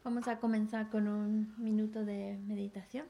Vamos a comenzar con un minuto de meditación.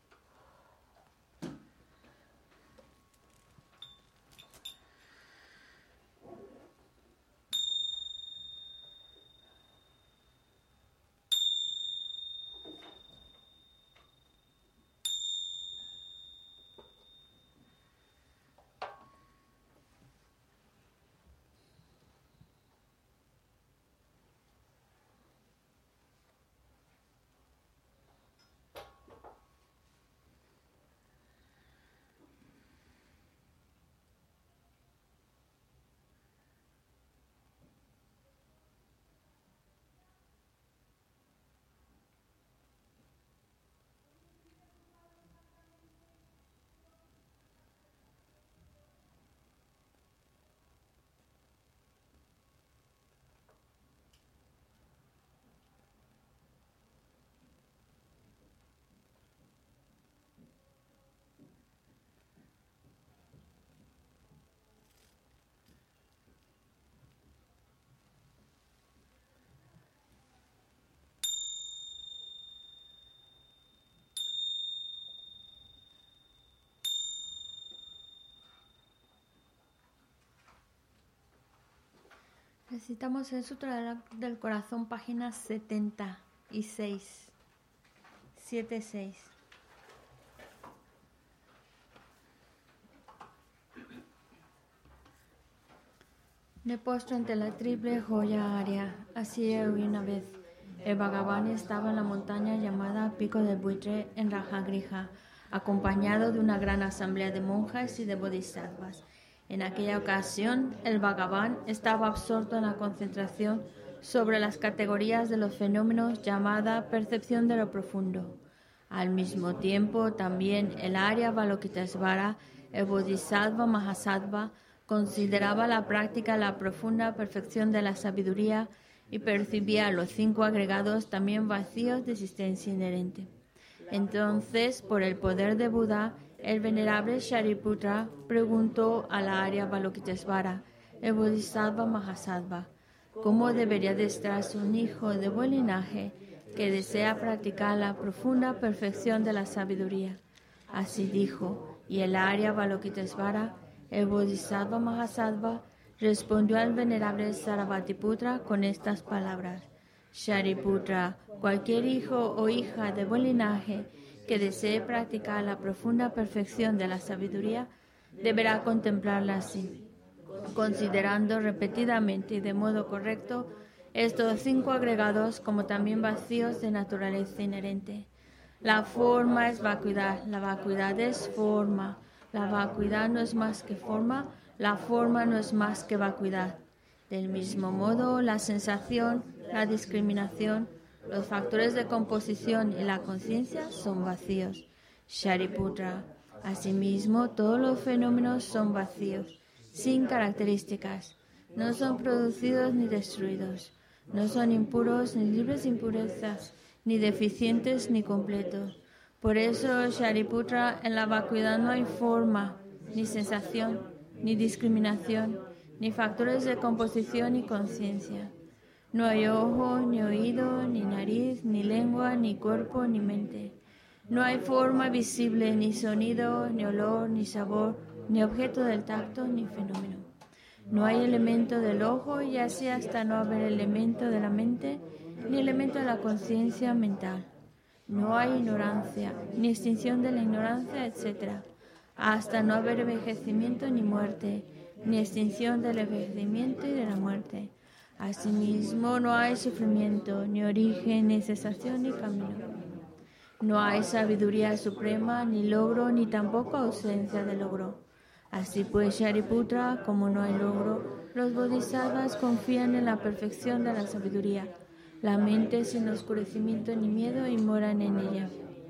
Necesitamos el Sutra del Corazón, página 76. 76. Me postro ante la triple joya Arya. Así era una vez. El Bhagavan estaba en la montaña llamada Pico del Buitre en Rajagrija, acompañado de una gran asamblea de monjas y de bodhisattvas. En aquella ocasión, el Bhagavan estaba absorto en la concentración sobre las categorías de los fenómenos llamada percepción de lo profundo. Al mismo tiempo, también el Arya Avalokitesvara, el Bodhisattva Mahasattva, consideraba la práctica la profunda perfección de la sabiduría y percibía los 5 agregados también vacíos de existencia inherente. Entonces, por el poder de Buda, el venerable Shariputra preguntó a la Arya Avalokitesvara, el Bodhisattva Mahasattva, ¿cómo debería adestrarse un hijo de buen linaje que desea practicar la profunda perfección de la sabiduría? Así dijo, y el Arya Avalokitesvara, el Bodhisattva Mahasattva, respondió al venerable Sarabhatiputra con estas palabras: Shariputra, cualquier hijo o hija de buen linaje que desee practicar la profunda perfección de la sabiduría deberá contemplarla así, considerando repetidamente y de modo correcto estos 5 agregados como también vacíos de naturaleza inherente. La forma es vacuidad, la vacuidad es forma, la vacuidad no es más que forma, la forma no es más que vacuidad. Del mismo modo, la sensación, la discriminación, los factores de composición y la conciencia son vacíos. Shariputra, asimismo, todos los fenómenos son vacíos, sin características, no son producidos ni destruidos, no son impuros ni libres de impurezas, ni deficientes ni completos. Por eso, Shariputra, en la vacuidad no hay forma, ni sensación, ni discriminación, ni factores de composición ni conciencia. No hay ojo, ni oído, ni nariz, ni lengua, ni cuerpo, ni mente. No hay forma visible, ni sonido, ni olor, ni sabor, ni objeto del tacto, ni fenómeno. No hay elemento del ojo, y así hasta no haber elemento de la mente, ni elemento de la conciencia mental. No hay ignorancia, ni extinción de la ignorancia, etc. Hasta no haber envejecimiento ni muerte, ni extinción del envejecimiento y de la muerte. Asimismo, no hay sufrimiento, ni origen, ni cesación, ni camino. No hay sabiduría suprema, ni logro, ni tampoco ausencia de logro. Así pues, Shariputra, como no hay logro, los bodhisattvas confían en la perfección de la sabiduría. La mente sin oscurecimiento ni miedo y moran en ella.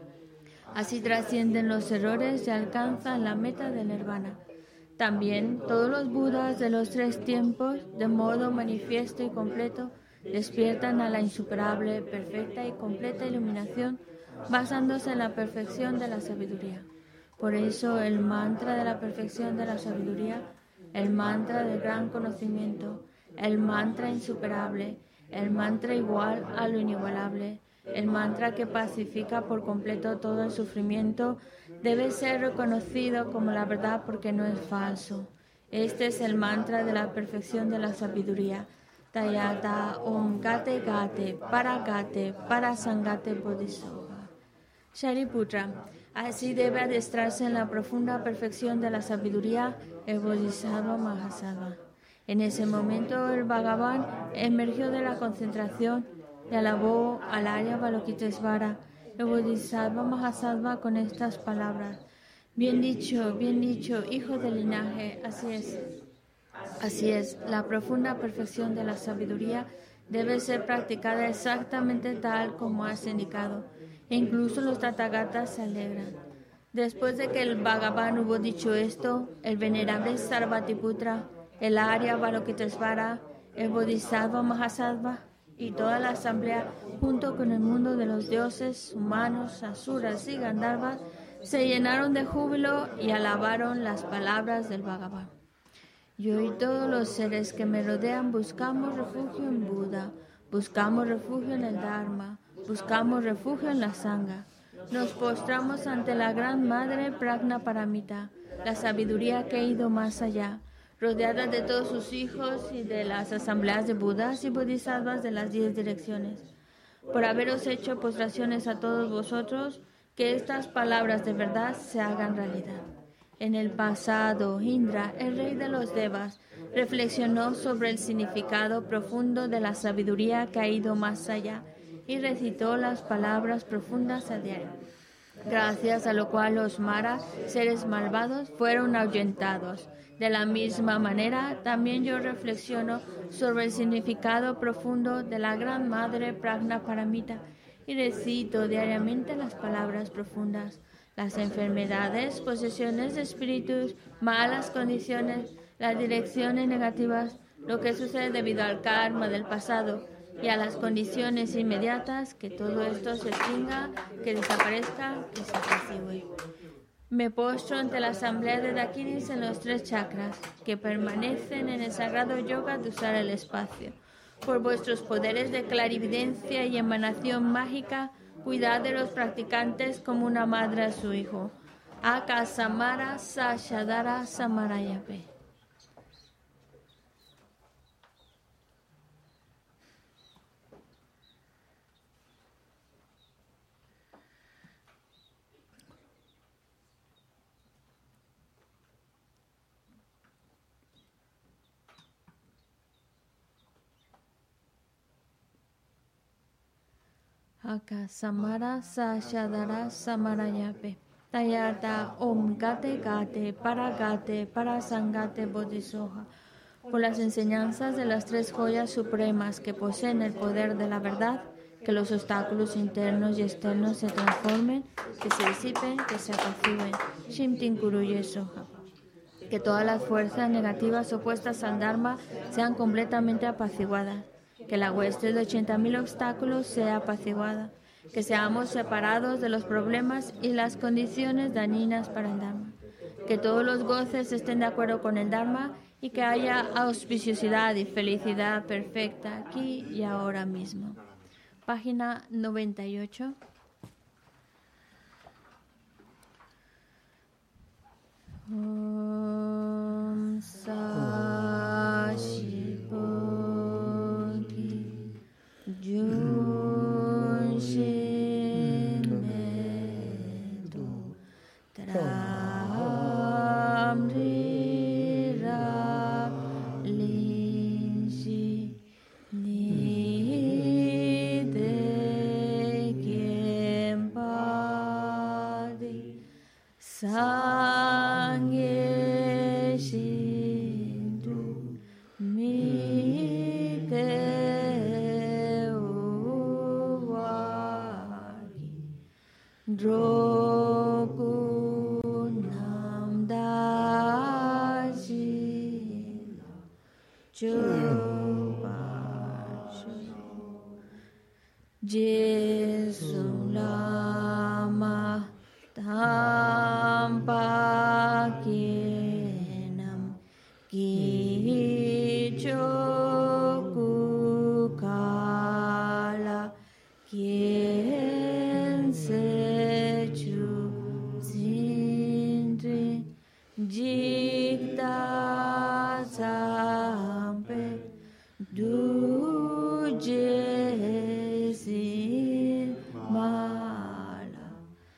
Así trascienden los errores y alcanzan la meta del nirvana. También todos los budas de los 3 tiempos, de modo manifiesto y completo, despiertan a la insuperable, perfecta y completa iluminación, basándose en la perfección de la sabiduría. Por eso el mantra de la perfección de la sabiduría, el mantra del gran conocimiento, el mantra insuperable, el mantra igual a lo inigualable, el mantra que pacifica por completo todo el sufrimiento, debe ser reconocido como la verdad porque no es falso. Este es el mantra de la perfección de la sabiduría. Tayata Om Gate Gate Para Sangate Bodhisattva. Shariputra, así debe adestrarse en la profunda perfección de la sabiduría el Bodhisattva Mahasattva. En ese momento el Bhagavan emergió de la concentración y alabó al Arya Avalokitesvara, el Bodhisattva Mahasattva, con estas palabras: bien dicho, hijo del linaje, así es. Así es, la profunda perfección de la sabiduría debe ser practicada exactamente tal como has indicado. E incluso los Tathagatas se alegran. Después de que el Bhagavan hubo dicho esto, el venerable Sarvatiputra, el Arya Avalokitesvara, el Bodhisattva Mahasattva y toda la asamblea, junto con el mundo de los dioses, humanos, asuras y gandharvas, se llenaron de júbilo y alabaron las palabras del Bhagavan. Yo y todos los seres que me rodean buscamos refugio en Buda, buscamos refugio en el Dharma, buscamos refugio en la Sangha. Nos postramos ante la Gran Madre Prajnaparamita, la sabiduría que ha ido más allá, rodeada de todos sus hijos y de las asambleas de Budas y Bodhisattvas de las 10 direcciones. Por haberos hecho postraciones a todos vosotros, que estas palabras de verdad se hagan realidad. En el pasado, Indra, el rey de los Devas, reflexionó sobre el significado profundo de la sabiduría que ha ido más allá y recitó las palabras profundas a diario, gracias a lo cual los Maras, seres malvados, fueron ahuyentados. De la misma manera, también yo reflexiono sobre el significado profundo de la Gran Madre Prajnaparamita y recito diariamente las palabras profundas. Las enfermedades, posesiones de espíritus, malas condiciones, las direcciones negativas, lo que sucede debido al karma del pasado y a las condiciones inmediatas, que todo esto se extinga, que desaparezca, que se apacigüe. Me postro ante la asamblea de Dakinis en los 3 chakras, que permanecen en el sagrado yoga de usar el espacio. Por vuestros poderes de clarividencia y emanación mágica, cuidad de los practicantes como una madre a su hijo. Akasamara Sashadara Samarayape. Akasamara Sashadara Samarayape. Tayata Om Gate Gate Para Sangate Bodhisattva. Por las enseñanzas de las 3 joyas supremas que poseen el poder de la verdad, que los obstáculos internos y externos se transformen, que se disipen, que se apacigüen. Shimtin Kuruye Soha. Que todas las fuerzas negativas opuestas al Dharma sean completamente apaciguadas. Que la hueste de 80.000 obstáculos sea apaciguada. Que seamos separados de los problemas y las condiciones dañinas para el Dharma. Que todos los goces estén de acuerdo con el Dharma y que haya auspiciosidad y felicidad perfecta aquí y ahora mismo. Página 98. Om Sashi Bodhi Junshin Medu Tramri Rab Linshi Nide Kempadi Sangye Shindu Mite Uwagi Drogu Namdaji Chupashu Jesu Lama Tampa Kienam Kichoku Kala Kien Jesi Mala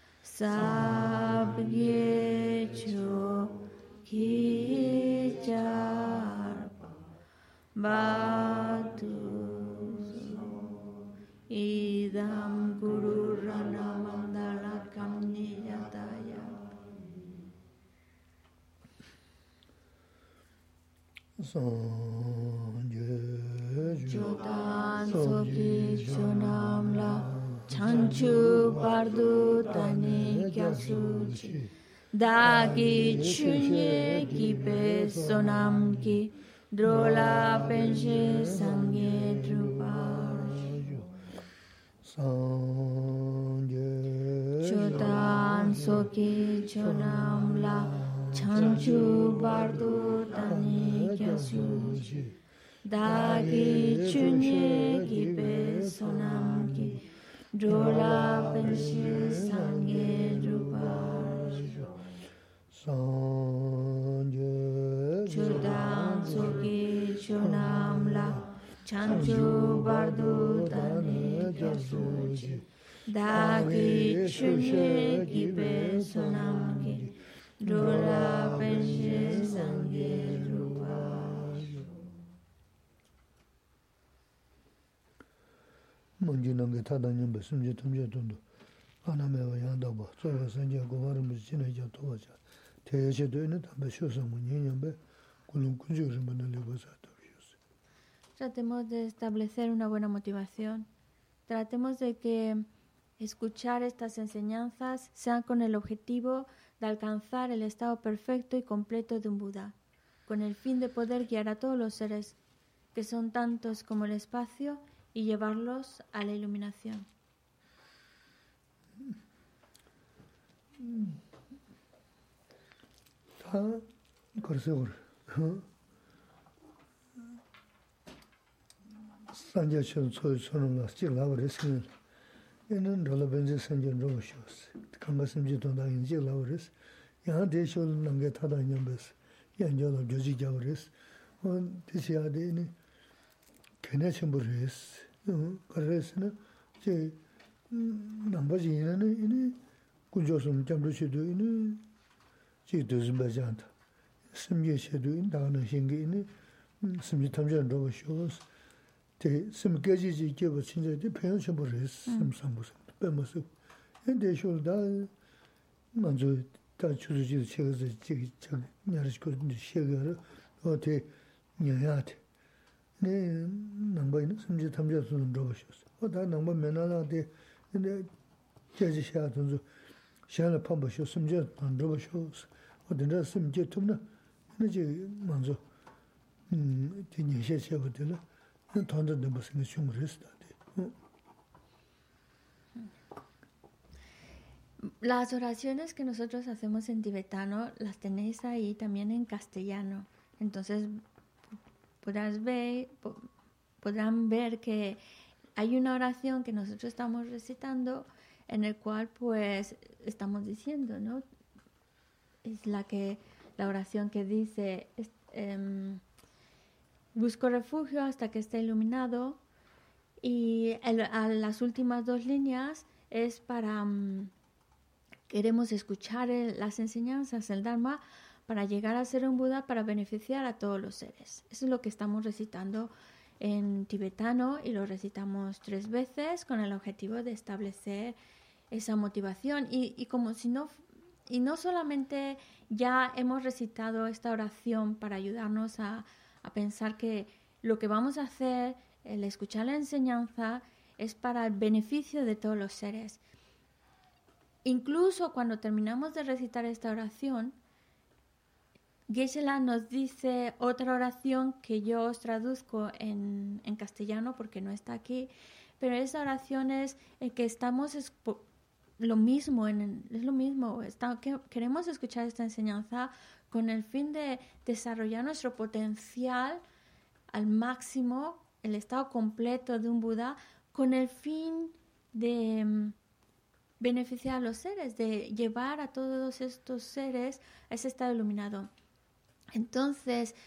Sabgecho Kijarpa Batu Idam Guru Rana Mandala Kamniyataya Jodan Soki Chonamla Chanchu Pardu Tani Kyasuchi Dagi Chunye Kipe Sonamki Drola Penche Sangye Druparju Jodan Soki Chonamla Chanchu Pardu Tani Kyasuchi Dagi Chunye Kipe Sonamki Drola Penche Sangye Druparju Chodan Soki Chonamla Chanchu Bardu Tane Kyasuchi Dagi Chunye Kipe Sonamki Drola Penche Sangye Druparju Manjinange Tadanyan Besumje Tumje Tundu Anamewa Yandaba Soga Sanje Govaram Chinaja Tovaja Teyache Doine Tambe Shosamu Nyanyambe Kulum Kunjurimana Lebasa. Tratemos de establecer una buena motivación. Tratemos de que escuchar estas enseñanzas sean con el objetivo de alcanzar el estado perfecto y completo de un Buda, con el fin de poder guiar a todos los seres, que son tantos como el espacio, y llevarlos a la iluminación. Sanje Sonum Jiglawaris, in Rolabenzi Sanjan Roshos, Kamasim Jitonda in Jiglawaris, Yahade Shol Nangetada Yambes, Yanjola Joji Javaris, on Tisiade Kenachamburis, Karesina, J. Nambajina in Kunjosum Jambuchidu in Jidus Bajanta, Simye Shedu in Dana Hingi in Simitamjan Roshos. Sim Gaji give a change the pension for his some sambus, Bemus. And they should die. Manzo Tachu chairs the Yarish couldn't sugar or take Nyayat. Nay, number some Jitamjas on Roshos. What that number Menala de in the Jaji Shatons, Shana Pamba shows some jet on Roshos, or the rest some jetumna, and the Manzo. Tinya Shavadilla. Las oraciones que nosotros hacemos en tibetano las tenéis ahí también en castellano. Entonces podrán ver que hay una oración que nosotros estamos recitando en el cual pues estamos diciendo, ¿no? Es la oración que dice busco refugio hasta que esté iluminado, y a las últimas dos líneas es para queremos escuchar las enseñanzas, el Dharma, para llegar a ser un Buda, para beneficiar a todos los seres. Eso es lo que estamos recitando en tibetano, y lo recitamos 3 veces con el objetivo de establecer esa motivación. Y no solamente ya hemos recitado esta oración para ayudarnos a pensar que lo que vamos a hacer, el escuchar la enseñanza, es para el beneficio de todos los seres. Incluso cuando terminamos de recitar esta oración, Geshe-la nos dice otra oración que yo os traduzco en castellano porque no está aquí, pero esa oración es que estamos lo mismo, queremos escuchar esta enseñanza con el fin de desarrollar nuestro potencial al máximo, el estado completo de un Buda, con el fin de beneficiar a los seres, de llevar a todos estos seres a ese estado iluminado. Entonces,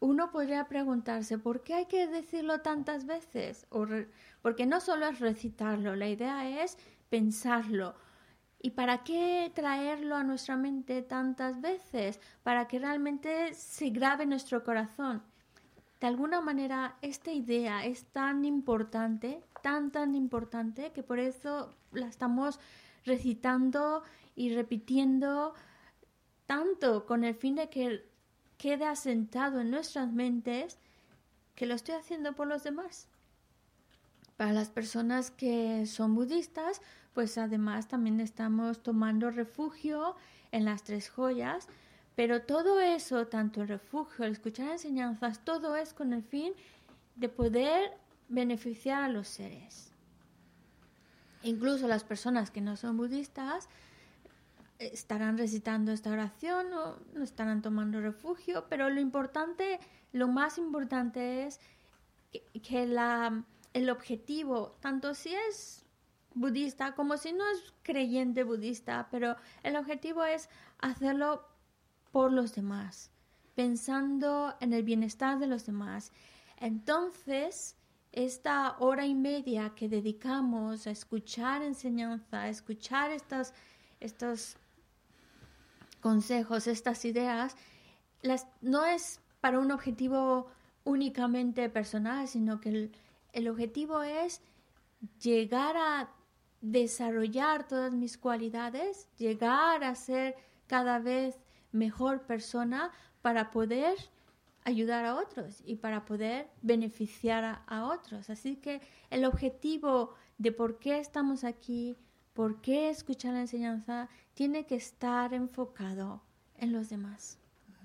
uno podría preguntarse, ¿por qué hay que decirlo tantas veces? Porque no solo es recitarlo, la idea es pensarlo. ¿Y para qué traerlo a nuestra mente tantas veces? Para que realmente se grabe en nuestro corazón. De alguna manera, esta idea es tan importante, tan importante, que por eso la estamos recitando y repitiendo tanto con el fin de que quede asentado en nuestras mentes, que lo estoy haciendo por los demás. Para las personas que son budistas, pues además también estamos tomando refugio en las tres joyas, pero todo eso, tanto el refugio, el escuchar enseñanzas, todo es con el fin de poder beneficiar a los seres. Incluso las personas que no son budistas estarán recitando esta oración o no estarán tomando refugio, pero lo más importante es que el objetivo, tanto si es budista como si no es creyente budista, pero el objetivo es hacerlo por los demás, pensando en el bienestar de los demás. Entonces, esta hora y media que dedicamos a escuchar enseñanza, a escuchar estos consejos, estas ideas, no es para un objetivo únicamente personal, sino que el objetivo es llegar a desarrollar todas mis cualidades, llegar a ser cada vez mejor persona para poder ayudar a otros y para poder beneficiar a otros. Así que el objetivo de por qué estamos aquí, por qué escuchar la enseñanza, tiene que estar enfocado en los demás.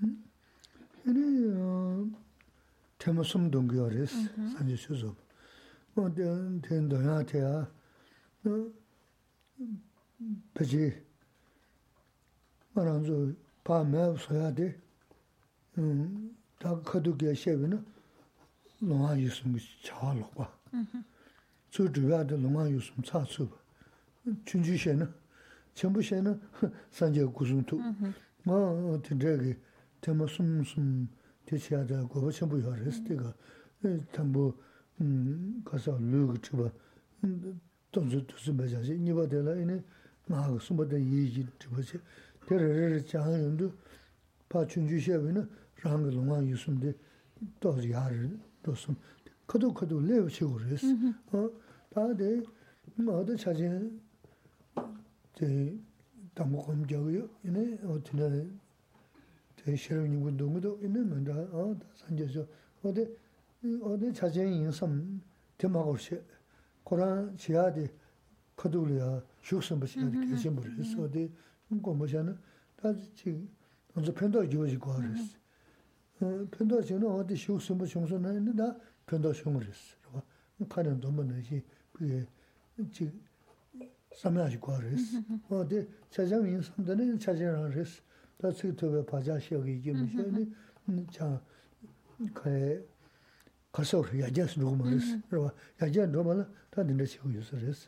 전부시에는 산재 구순투 뭐 되게 tema sum 대치하다 거 전부 요랬을 tambo 가서 루그 주바 돈도 맞아지 니바데라 이네 나 숨어다 이지 주바지 데르르 장연도 파춘주시에는 랑을 농아 유순데 또 야를 또숨 커도 레오치고 그랬어 다데 뭐도 찾은 제 담고금 저요 이네 어떻게 대시를 운동도 있는 만다 산재서 어디 자진 인섬 대마고시 고란 지하데 커둘이야 숙성부시야 계신 분이서 어디 공부하는 다지 먼저 편도 지어지고 그랬어 편도 지는 어디 숙성부 청소는 있는데 편도 청소했어 봐 가는 돈만이지 그게 지 삼야지고 그랬어 어디 자장 인섬들은 자진을 그랬어 다시 또 바자시하게 이게 무슨 자 그 가서 야자스 누구 말했어. 야자 너만 다 된다 시고 있었어.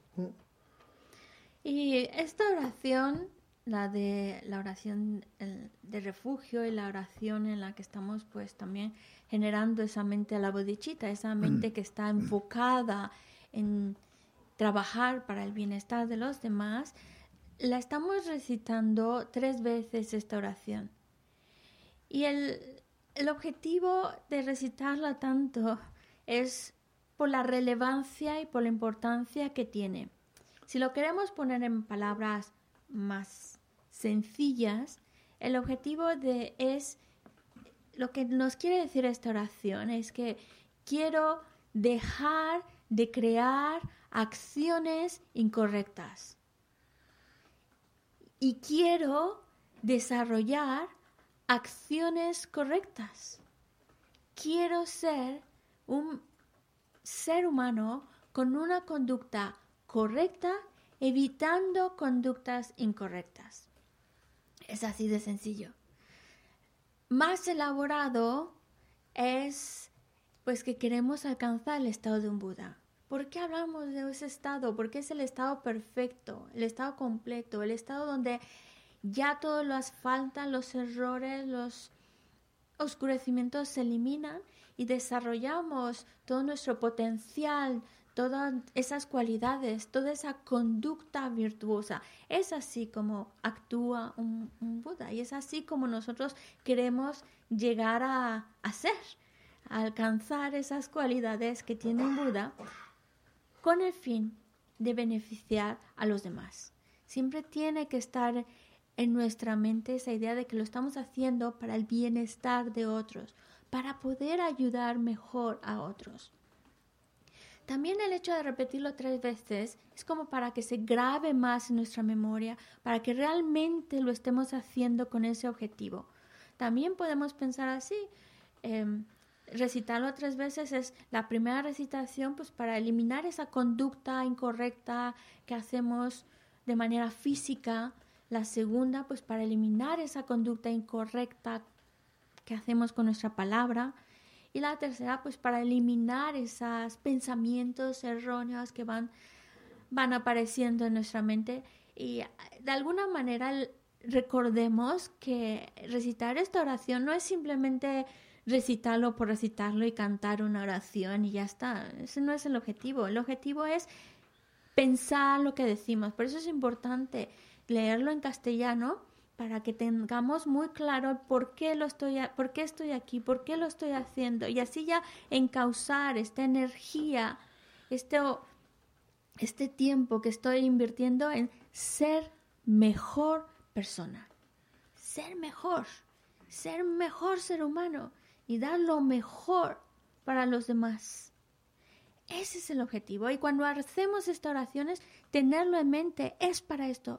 Y esta oración, la oración de refugio y la oración en la que estamos pues también generando esa mente a la bodhicitta, esa mente que está enfocada en trabajar para el bienestar de los demás, la estamos recitando 3 veces esta oración. Y el objetivo de recitarla tanto es por la relevancia y por la importancia que tiene. Si lo queremos poner en palabras más sencillas, el objetivo es lo que nos quiere decir esta oración, es que quiero dejar de crear acciones incorrectas. Y quiero desarrollar acciones correctas. Quiero ser un ser humano con una conducta correcta, evitando conductas incorrectas. Es así de sencillo. Más elaborado es pues que queremos alcanzar el estado de un Buda. ¿Por qué hablamos de ese estado? Porque es el estado perfecto, el estado completo, el estado donde ya todo lo faltan, los errores, oscurecimientos se eliminan y desarrollamos todo nuestro potencial, todas esas cualidades, toda esa conducta virtuosa. Es así como actúa un Buda y es así como nosotros queremos llegar a ser, a alcanzar esas cualidades que tiene un Buda con el fin de beneficiar a los demás. Siempre tiene que estar en nuestra mente esa idea de que lo estamos haciendo para el bienestar de otros, para poder ayudar mejor a otros. También el hecho de repetirlo 3 veces es como para que se grabe más en nuestra memoria, para que realmente lo estemos haciendo con ese objetivo. También podemos pensar así, recitarlo 3 veces es la primera recitación pues para eliminar esa conducta incorrecta que hacemos de manera física, la segunda pues para eliminar esa conducta incorrecta que hacemos con nuestra palabra y la tercera pues para eliminar esos pensamientos erróneos que van apareciendo en nuestra mente y de alguna manera recordemos que recitar esta oración no es simplemente recitarlo por recitarlo y cantar una oración y ya está. Ese no es el objetivo. El objetivo es pensar lo que decimos. Por eso es importante leerlo en castellano para que tengamos muy claro por qué estoy aquí, por qué lo estoy haciendo y así ya encauzar esta energía, este tiempo que estoy invirtiendo en ser mejor persona, ser mejor ser humano y dar lo mejor para los demás. Ese es el objetivo. Y cuando hacemos estas oraciones, tenerlo en mente, es para esto.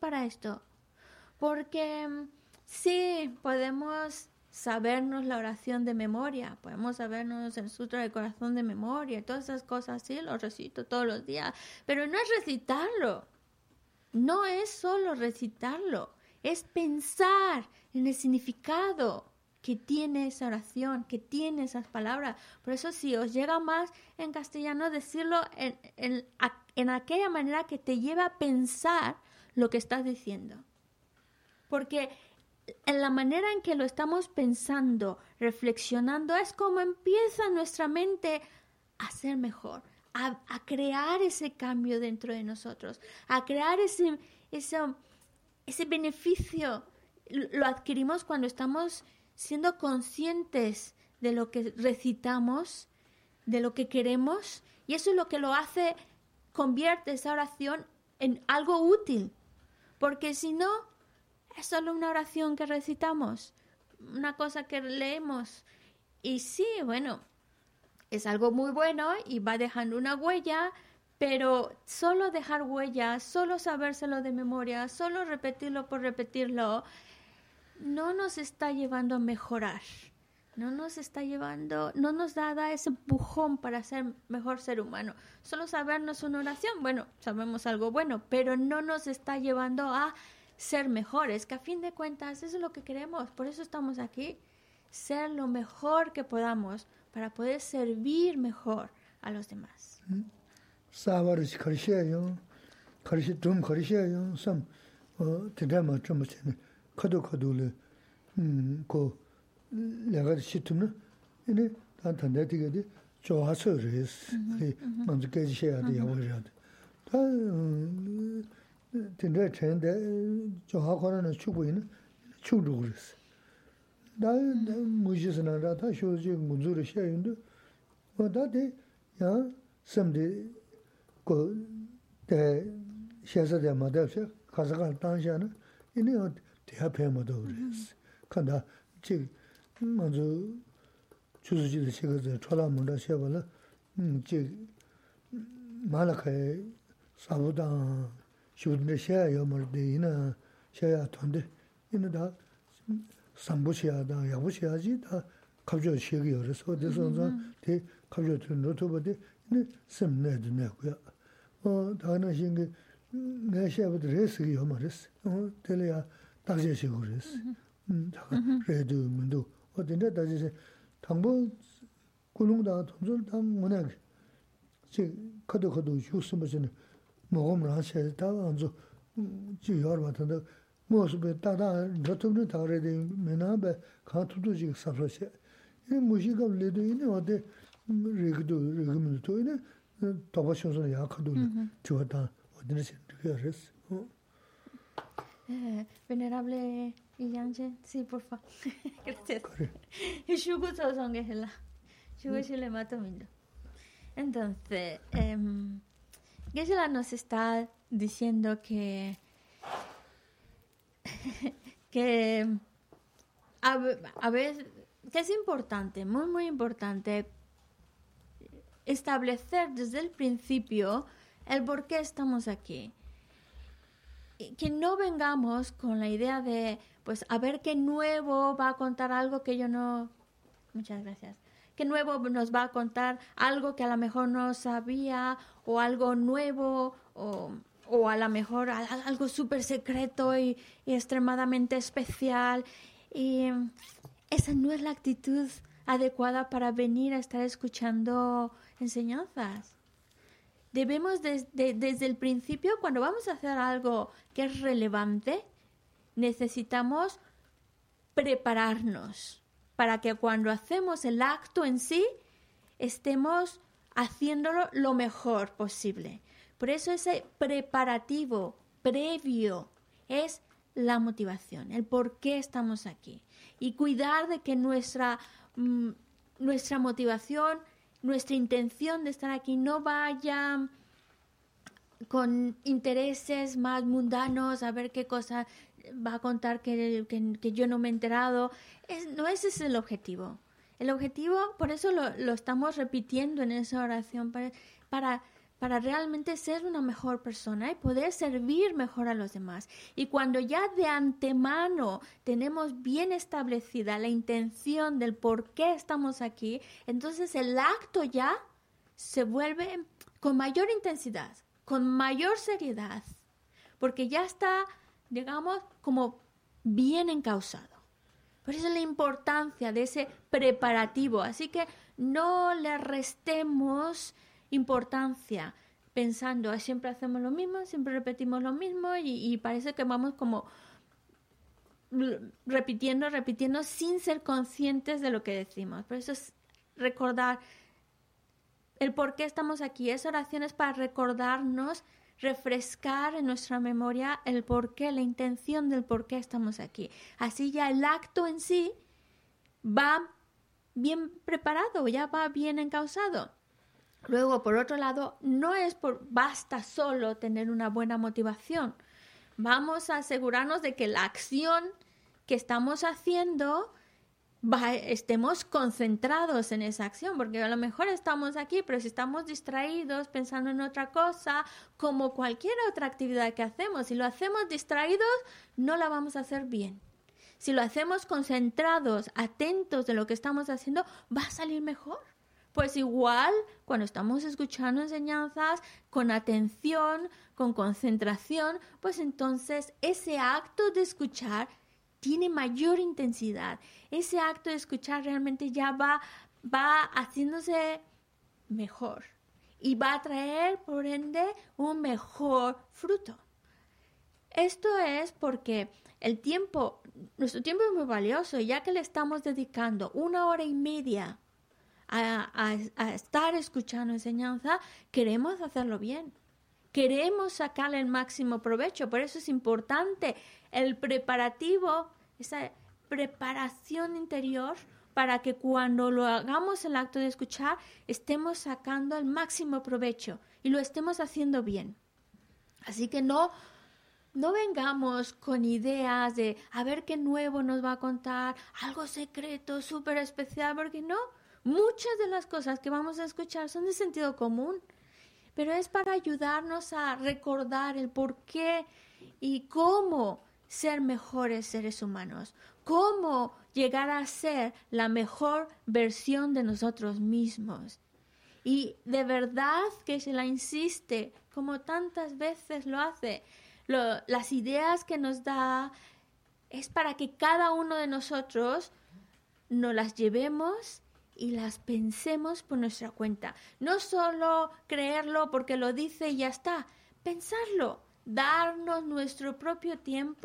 Porque sí, podemos sabernos la oración de memoria, podemos sabernos el sutra del corazón de memoria, todas esas cosas, sí, lo recito todos los días. Pero no es recitarlo. No es solo recitarlo. Es pensar en el significado que tiene esa oración, que tiene esas palabras. Por eso si os llega más en castellano, decirlo en aquella manera que te lleva a pensar lo que estás diciendo. Porque en la manera en que lo estamos pensando, reflexionando, es como empieza nuestra mente a ser mejor, a crear ese cambio dentro de nosotros, a crear ese beneficio. Lo adquirimos cuando estamos siendo conscientes de lo que recitamos, de lo que queremos, y eso es lo que lo hace, convierte esa oración en algo útil, porque si no, es solo una oración que recitamos, una cosa que leemos, y sí, bueno, es algo muy bueno y va dejando una huella, pero solo dejar huella, solo sabérselo de memoria, solo repetirlo por repetirlo, no nos está llevando a mejorar, no nos da ese empujón para ser mejor ser humano. Solo sabernos una oración, bueno, sabemos algo bueno, pero no nos está llevando a ser mejores, que a fin de cuentas eso es lo que queremos, por eso estamos aquí, ser lo mejor que podamos para poder servir mejor a los demás. 카도카도를 고 내가 시트는 이네 단단데 되게 좋아서레스 먼저 깨지셔야 돼요 버려야 다 근데 전에 좋아하고는 추고이는 추로 그랬어 나 무지스나라 다 쇼지 문주를 셔인데 다데 야 섬데 고대 셔서데 마다서 가서가 당시에는 이네 대합해마도 그랬어. 간다. 지 먼저 주주지의 시거들 초라문다 셔발라 지 말아카에 사보다 쇼드네 셔야 멀데이나 셔야 돈데 이는다 삼부시야다 야부시야지 다 갑자기 시기 열어서 어디서 대 갑자기 노트보데 네 sem내도 내고요. 다는 신게 내 셔부터 레스기 요마레스. 텔레야 다제시고 그랬어. 그래도 문도 어딘데 다제시 당보 군웅다 돈줄 당 문에 지 커도 휴스무슨 먹으면 하셔야 다 안저 지여 같은데 모습에 따다 저쪽에 다르게 메나베 카투도지 사프로세 이 무시가 레도 이네 어디 리그도 리그도 이네 도바쇼서 약하도 좋다 어디는 그랬어 Venerable Yangchen, sí, por favor. Gracias. Shugu Sosongela. Shugu Shilemato Mindo. Entonces, Geshe-la nos está diciendo que a veces que es importante, muy muy importante establecer desde el principio el por qué estamos aquí. Que no vengamos con la idea de, pues, a ver qué nuevo va a contar algo que yo no... Muchas gracias. Qué nuevo nos va a contar algo que a lo mejor no sabía, o algo nuevo, o a lo mejor algo súper secreto y extremadamente especial. Y esa no es la actitud adecuada para venir a estar escuchando enseñanzas. Debemos desde el principio, cuando vamos a hacer algo que es relevante, necesitamos prepararnos para que cuando hacemos el acto en sí, estemos haciéndolo lo mejor posible. Por eso ese preparativo previo es la motivación, el por qué estamos aquí. Y cuidar de que nuestra motivación, nuestra intención de estar aquí no vaya con intereses más mundanos, a ver qué cosa va a contar que yo no me he enterado. No ese es el objetivo. El objetivo, por eso lo estamos repitiendo en esa oración, para realmente ser una mejor persona y poder servir mejor a los demás. Y cuando ya de antemano tenemos bien establecida la intención del por qué estamos aquí, entonces el acto ya se vuelve con mayor intensidad, con mayor seriedad, porque ya está, digamos, como bien encauzado. Por eso la importancia de ese preparativo. Así que no le restemos importancia pensando, siempre hacemos lo mismo, siempre repetimos lo mismo y parece que vamos como repitiendo sin ser conscientes de lo que decimos. Por eso es recordar el por qué estamos aquí. Esa oración es para recordarnos, refrescar en nuestra memoria el por qué, la intención del por qué estamos aquí. Así ya el acto en sí va bien preparado, ya va bien encauzado. Luego, por otro lado, no es basta solo tener una buena motivación. Vamos a asegurarnos de que la acción que estamos haciendo estemos concentrados en esa acción, porque a lo mejor estamos aquí, pero si estamos distraídos pensando en otra cosa, como cualquier otra actividad que hacemos, si lo hacemos distraídos, no la vamos a hacer bien. Si lo hacemos concentrados, atentos de lo que estamos haciendo, va a salir mejor. Pues igual, cuando estamos escuchando enseñanzas con atención, con concentración, pues entonces ese acto de escuchar tiene mayor intensidad. Ese acto de escuchar realmente ya va haciéndose mejor y va a traer, por ende, un mejor fruto. Esto es porque nuestro tiempo es muy valioso, ya que le estamos dedicando 1 hora y media a estar escuchando enseñanza, queremos hacerlo bien. Queremos sacarle el máximo provecho. Por eso es importante el preparativo, esa preparación interior, para que cuando lo hagamos el acto de escuchar, estemos sacando el máximo provecho y lo estemos haciendo bien. Así que no vengamos con ideas de a ver qué nuevo nos va a contar, algo secreto, súper especial, porque no. Muchas de las cosas que vamos a escuchar son de sentido común, pero es para ayudarnos a recordar el por qué y cómo ser mejores seres humanos, cómo llegar a ser la mejor versión de nosotros mismos. Y de verdad que se la insiste, como tantas veces lo hace, las ideas que nos da es para que cada uno de nosotros nos las llevemos y las pensemos por nuestra cuenta. No solo creerlo porque lo dice y ya está. Pensarlo, darnos nuestro propio tiempo,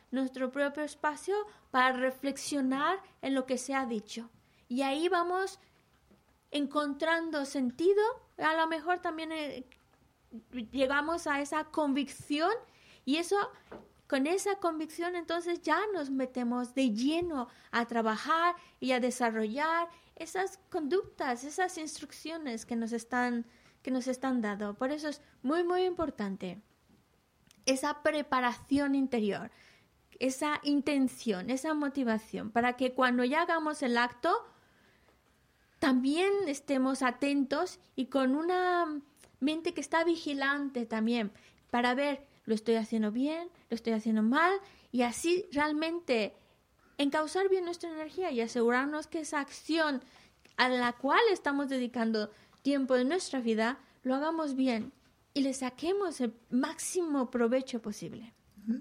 nuestro propio espacio para reflexionar en lo que se ha dicho. Y ahí vamos encontrando sentido. A lo mejor también llegamos a esa convicción y eso, con esa convicción entonces ya nos metemos de lleno a trabajar y a desarrollar esas conductas, esas instrucciones que nos están dando. Por eso es muy, muy importante esa preparación interior, esa intención, esa motivación, para que cuando ya hagamos el acto también estemos atentos y con una mente que está vigilante también, para ver, lo estoy haciendo bien, lo estoy haciendo mal, y así realmente encauzar bien nuestra energía y asegurarnos que esa acción a la cual estamos dedicando tiempo de nuestra vida, lo hagamos bien y le saquemos el máximo provecho posible.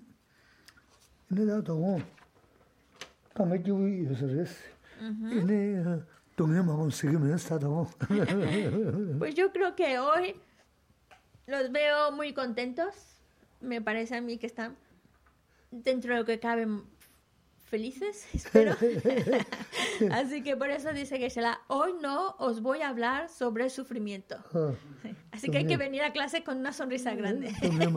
Pues yo creo que hoy los veo muy contentos. Me parece a mí que están, dentro de lo que cabe, felices, espero. Así que por eso dice Geshe-la, hoy no os voy a hablar sobre sufrimiento. Así que hay que venir a clase con una sonrisa grande.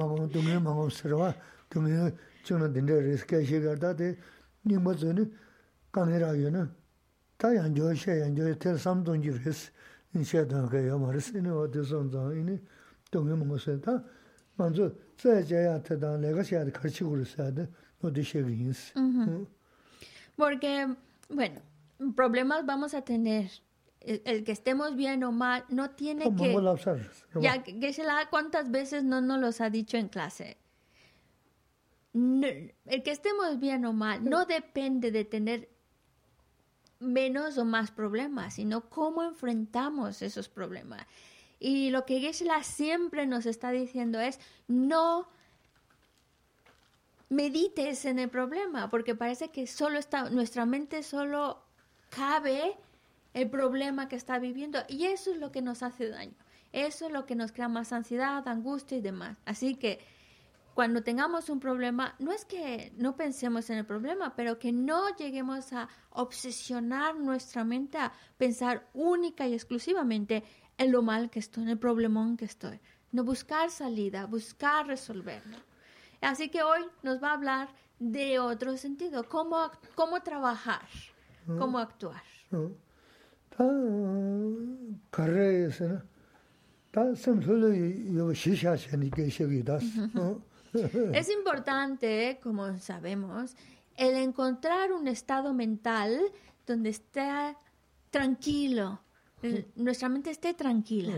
Porque, bueno, problemas vamos a tener. El que estemos bien o mal no tiene que... Ya, Geshe-la, ¿cuántas veces no nos los ha dicho en clase? No, el que estemos bien o mal no depende de tener menos o más problemas, sino cómo enfrentamos esos problemas. Y lo que Geshe-la siempre nos está diciendo es no medites en el problema, porque parece que nuestra mente solo cabe el problema que está viviendo, y eso es lo que nos hace daño. Eso es lo que nos crea más ansiedad, angustia y demás. Así que cuando tengamos un problema, no es que no pensemos en el problema, pero que no lleguemos a obsesionar nuestra mente a pensar única y exclusivamente en lo mal que estoy, en el problemón que estoy. No buscar salida, buscar resolverlo. Así que hoy nos va a hablar de otro sentido, cómo trabajar, cómo actuar. Es importante, como sabemos, el encontrar un estado mental donde esté tranquilo, nuestra mente esté tranquila.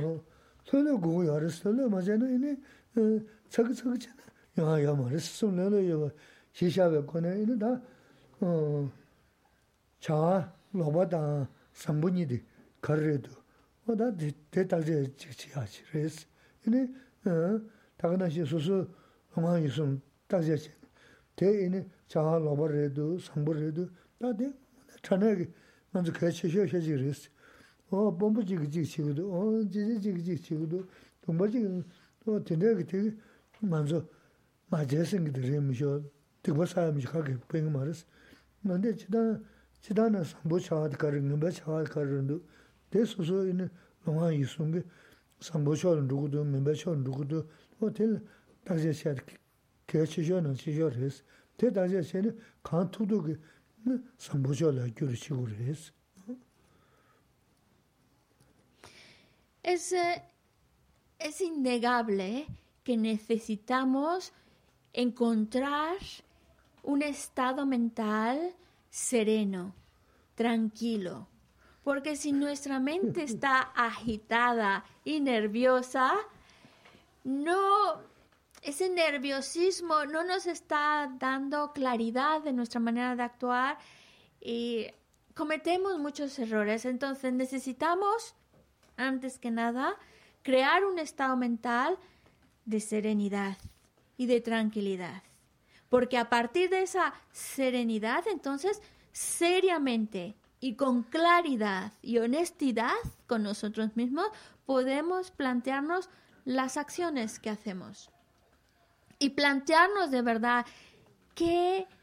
Es innegable que necesitamos encontrar un estado mental sereno, tranquilo, porque si nuestra mente está agitada y nerviosa, ese nerviosismo no nos está dando claridad de nuestra manera de actuar y cometemos muchos errores. Entonces necesitamos, antes que nada, crear un estado mental de serenidad y de tranquilidad. Porque a partir de esa serenidad, entonces, seriamente y con claridad y honestidad con nosotros mismos, podemos plantearnos las acciones que hacemos. Y plantearnos de verdad qué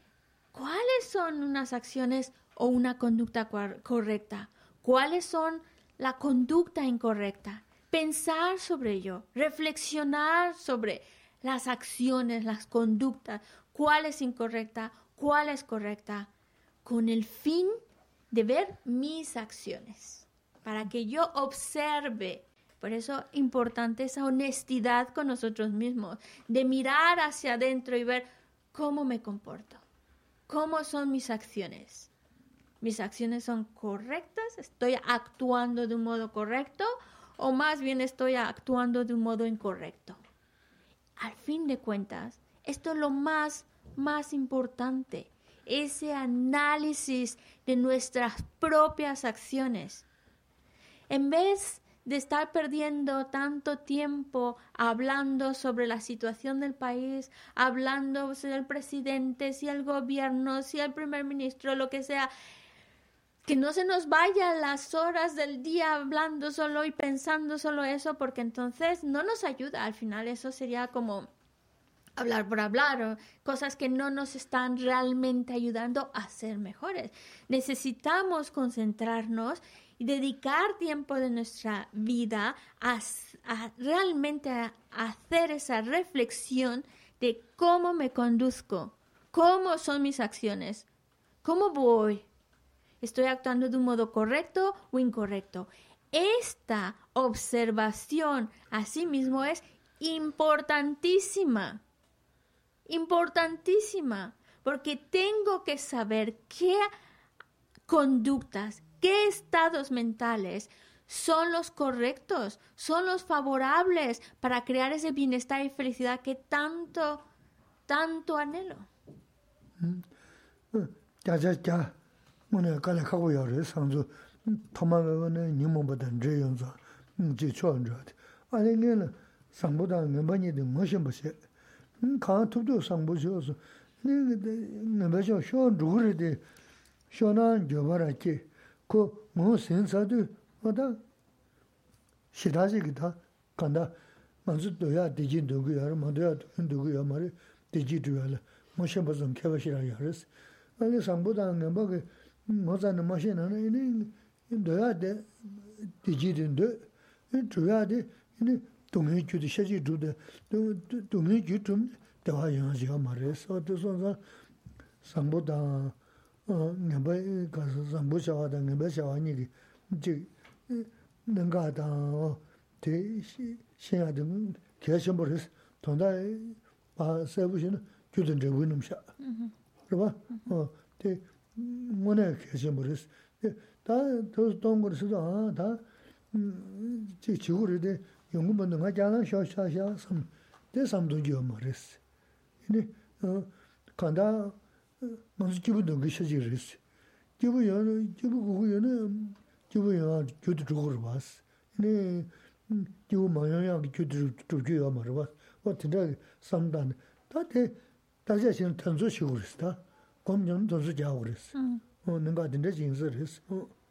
¿Cuáles son unas acciones o una conducta correcta? ¿Cuáles son la conducta incorrecta? Pensar sobre ello, reflexionar sobre las acciones, las conductas, cuál es incorrecta, cuál es correcta, con el fin de ver mis acciones, para que yo observe. Por eso es importante esa honestidad con nosotros mismos, de mirar hacia adentro y ver cómo me comporto, cómo son mis acciones. ¿Mis acciones son correctas? ¿Estoy actuando de un modo correcto? ¿O más bien estoy actuando de un modo incorrecto? Al fin de cuentas, esto es lo más importante. Ese análisis de nuestras propias acciones. En vez de estar perdiendo tanto tiempo hablando sobre la situación del país, hablando si el presidente, si el gobierno, si el primer ministro, lo que sea, que no se nos vayan las horas del día hablando solo y pensando solo eso, porque entonces no nos ayuda. Al final eso sería como hablar por hablar, o cosas que no nos están realmente ayudando a ser mejores. Necesitamos concentrarnos y dedicar tiempo de nuestra vida a realmente a hacer esa reflexión de cómo me conduzco, cómo son mis acciones, cómo voy, estoy actuando de un modo correcto o incorrecto. Esta observación a sí mismo es importantísima. Importantísima, porque tengo que saber qué conductas, qué estados mentales son los correctos, son los favorables para crear ese bienestar y felicidad que tanto anhelo. kaa tupdo sangbo shiosu, nga shio shion zhuguri de shionan jobara ki, ko ngon sen sadu, wada shidaji ki ta kanda manzu doya deji dogu yara, mandoya dogu yara mara deji doya la, mo shenpa zon keba shira yaris. Ali sangbo da nga bagi mo zani ma shena na, doya de deji dindo, doya de 동해 주도 셔지 주도 동해 주좀 대화 영화지가 말해서 어디서 상보다 내가 가서 상보셔다 내가 셔하니 이제 뭔가다 대시 신하든 계셔 버렸어 돈다 봐 세부시는 주든지 위놈샤 그봐 대 뭐네 계셔 버렸어 다더 동거에서도 다 지구를 용금은 가잖아 샤샤샤 섬 대삼도 지어버렸어. 근데 간다 먼저 집도 그셔지랬어. 집은 그거는 집은 교도 주고 봤어. 근데 집 마냥이 교도 주고 말아. 어떻게 삼단 다대 다자신 탄소 쉬고 그랬다. 검정 도서 자고 그랬어. 내가 된데 진설했어.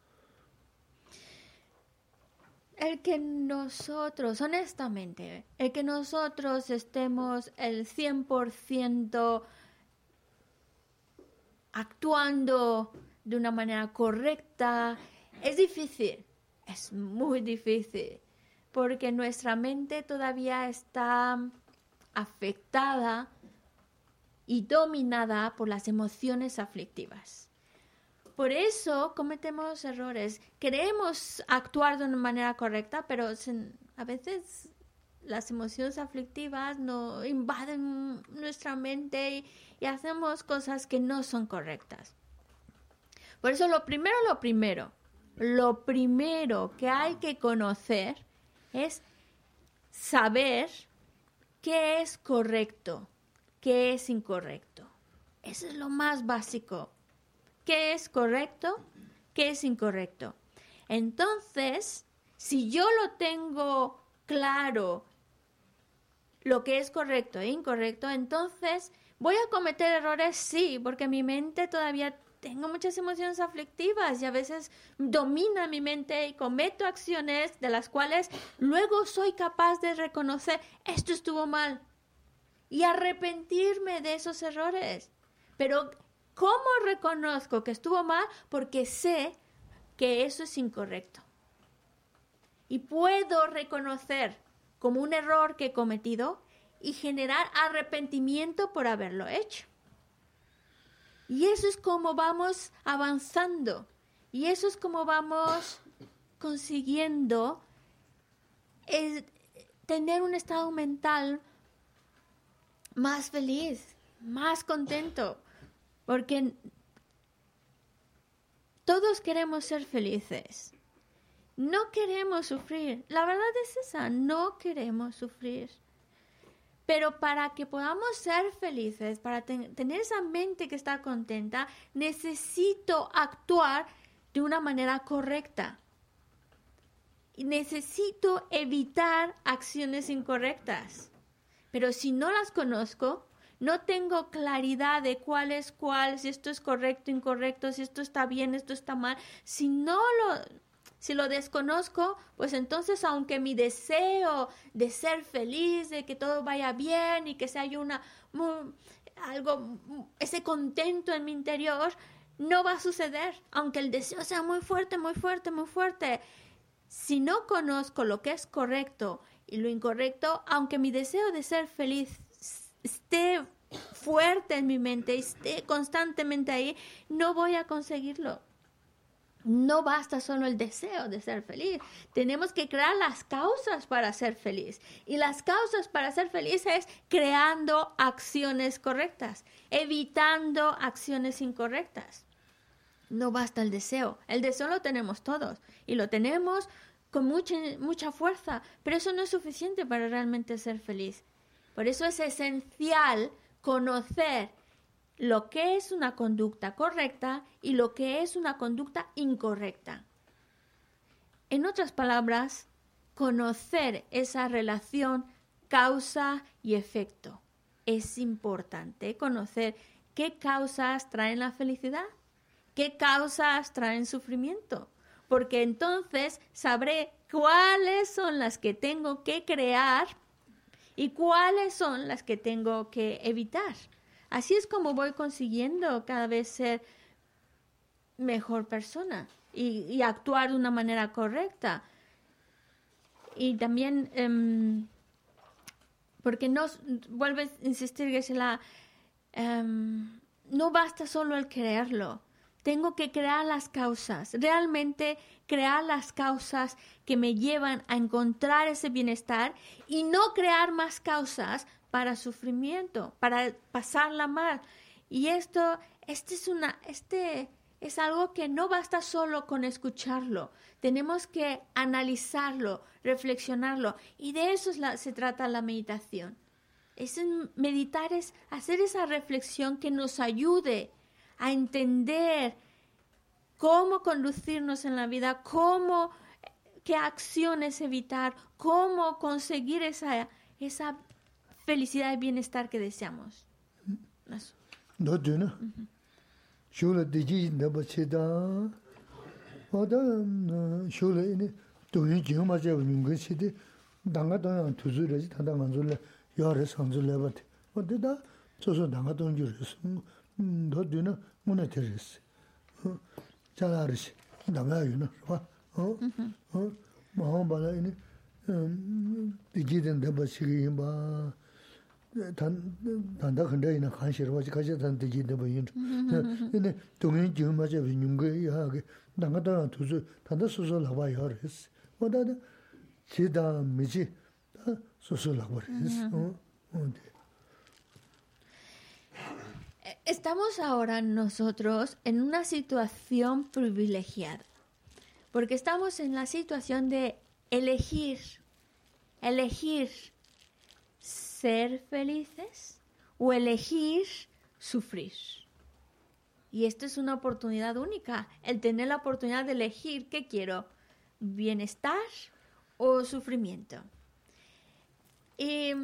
El que nosotros, honestamente, el que nosotros estemos el 100% actuando de una manera correcta, es difícil, es muy difícil, porque nuestra mente todavía está afectada y dominada por las emociones aflictivas. Por eso cometemos errores. Queremos actuar de una manera correcta, pero a veces las emociones aflictivas nos invaden nuestra mente y hacemos cosas que no son correctas. Por eso lo primero que hay que conocer es saber qué es correcto, qué es incorrecto. Eso es lo más básico. ¿Qué es correcto? ¿Qué es incorrecto? Entonces, si yo lo tengo claro, lo que es correcto e incorrecto, entonces voy a cometer errores, sí, porque mi mente todavía tengo muchas emociones aflictivas y a veces domina mi mente y cometo acciones de las cuales luego soy capaz de reconocer, esto estuvo mal, y arrepentirme de esos errores. Pero ¿Cómo reconozco que estuvo mal? Porque sé que eso es incorrecto. Y puedo reconocer como un error que he cometido y generar arrepentimiento por haberlo hecho. Y eso es como vamos avanzando. Y eso es como vamos consiguiendo tener un estado mental más feliz, más contento. Porque todos queremos ser felices. No queremos sufrir. La verdad es esa, no queremos sufrir. Pero para que podamos ser felices, para tener esa mente que está contenta, necesito actuar de una manera correcta. Y necesito evitar acciones incorrectas. Pero si no las conozco, no tengo claridad de cuál es cuál, si esto es correcto, incorrecto, si esto está bien, esto está mal. Si lo desconozco, pues entonces aunque mi deseo de ser feliz, de que todo vaya bien y que se haya ese contento en mi interior, no va a suceder, aunque el deseo sea muy fuerte, muy fuerte, muy fuerte. Si no conozco lo que es correcto y lo incorrecto, aunque mi deseo de ser feliz esté fuerte en mi mente, esté constantemente ahí, no voy a conseguirlo. No basta solo el deseo de ser feliz. Tenemos que crear las causas para ser feliz. Y las causas para ser feliz es creando acciones correctas, evitando acciones incorrectas. No basta el deseo. El deseo lo tenemos todos y lo tenemos con mucha fuerza, pero eso no es suficiente para realmente ser feliz. Por eso es esencial conocer lo que es una conducta correcta y lo que es una conducta incorrecta. En otras palabras, conocer esa relación causa y efecto. Es importante conocer qué causas traen la felicidad, qué causas traen sufrimiento, porque entonces sabré cuáles son las que tengo que crear y cuáles son las que tengo que evitar. Así es como voy consiguiendo cada vez ser mejor persona y actuar de una manera correcta. Y también, porque no, vuelves a insistir, Geshe-la, no basta solo el creerlo. Tengo que crear las causas, realmente crear las causas que me llevan a encontrar ese bienestar y no crear más causas para sufrimiento, para pasarla mal. Y esto es algo que no basta solo con escucharlo. Tenemos que analizarlo, reflexionarlo. Y de eso se trata la meditación. Meditar es hacer esa reflexión que nos ayude a entender cómo conducirnos en la vida, qué acciones evitar, cómo conseguir esa felicidad y bienestar que deseamos. Eso. No, no. Shula diji ndaba cheda. Oda shula ini doyin jima je nyunga chide danga dong tuzu reji tanda manzule yare sanzule bate. Oda da soso danga dong jures. No dina muna teres. Chalaris danga yuna, va. Mahamba ini diji ndaba chigi ba 단다 근데 이나 관시로 와지 가지 단데 지데 보인. 근데 동행 지금 맞아 비뉴게 하게 나가다 두서 단다 소소 나와 요레스. 뭐다다 지다 미지 소소 나와 요레스. Estamos ahora nosotros en una situación privilegiada, porque estamos en la situación de elegir ser felices o elegir sufrir. Y esto es una oportunidad única, el tener la oportunidad de elegir qué quiero, bienestar o sufrimiento. Y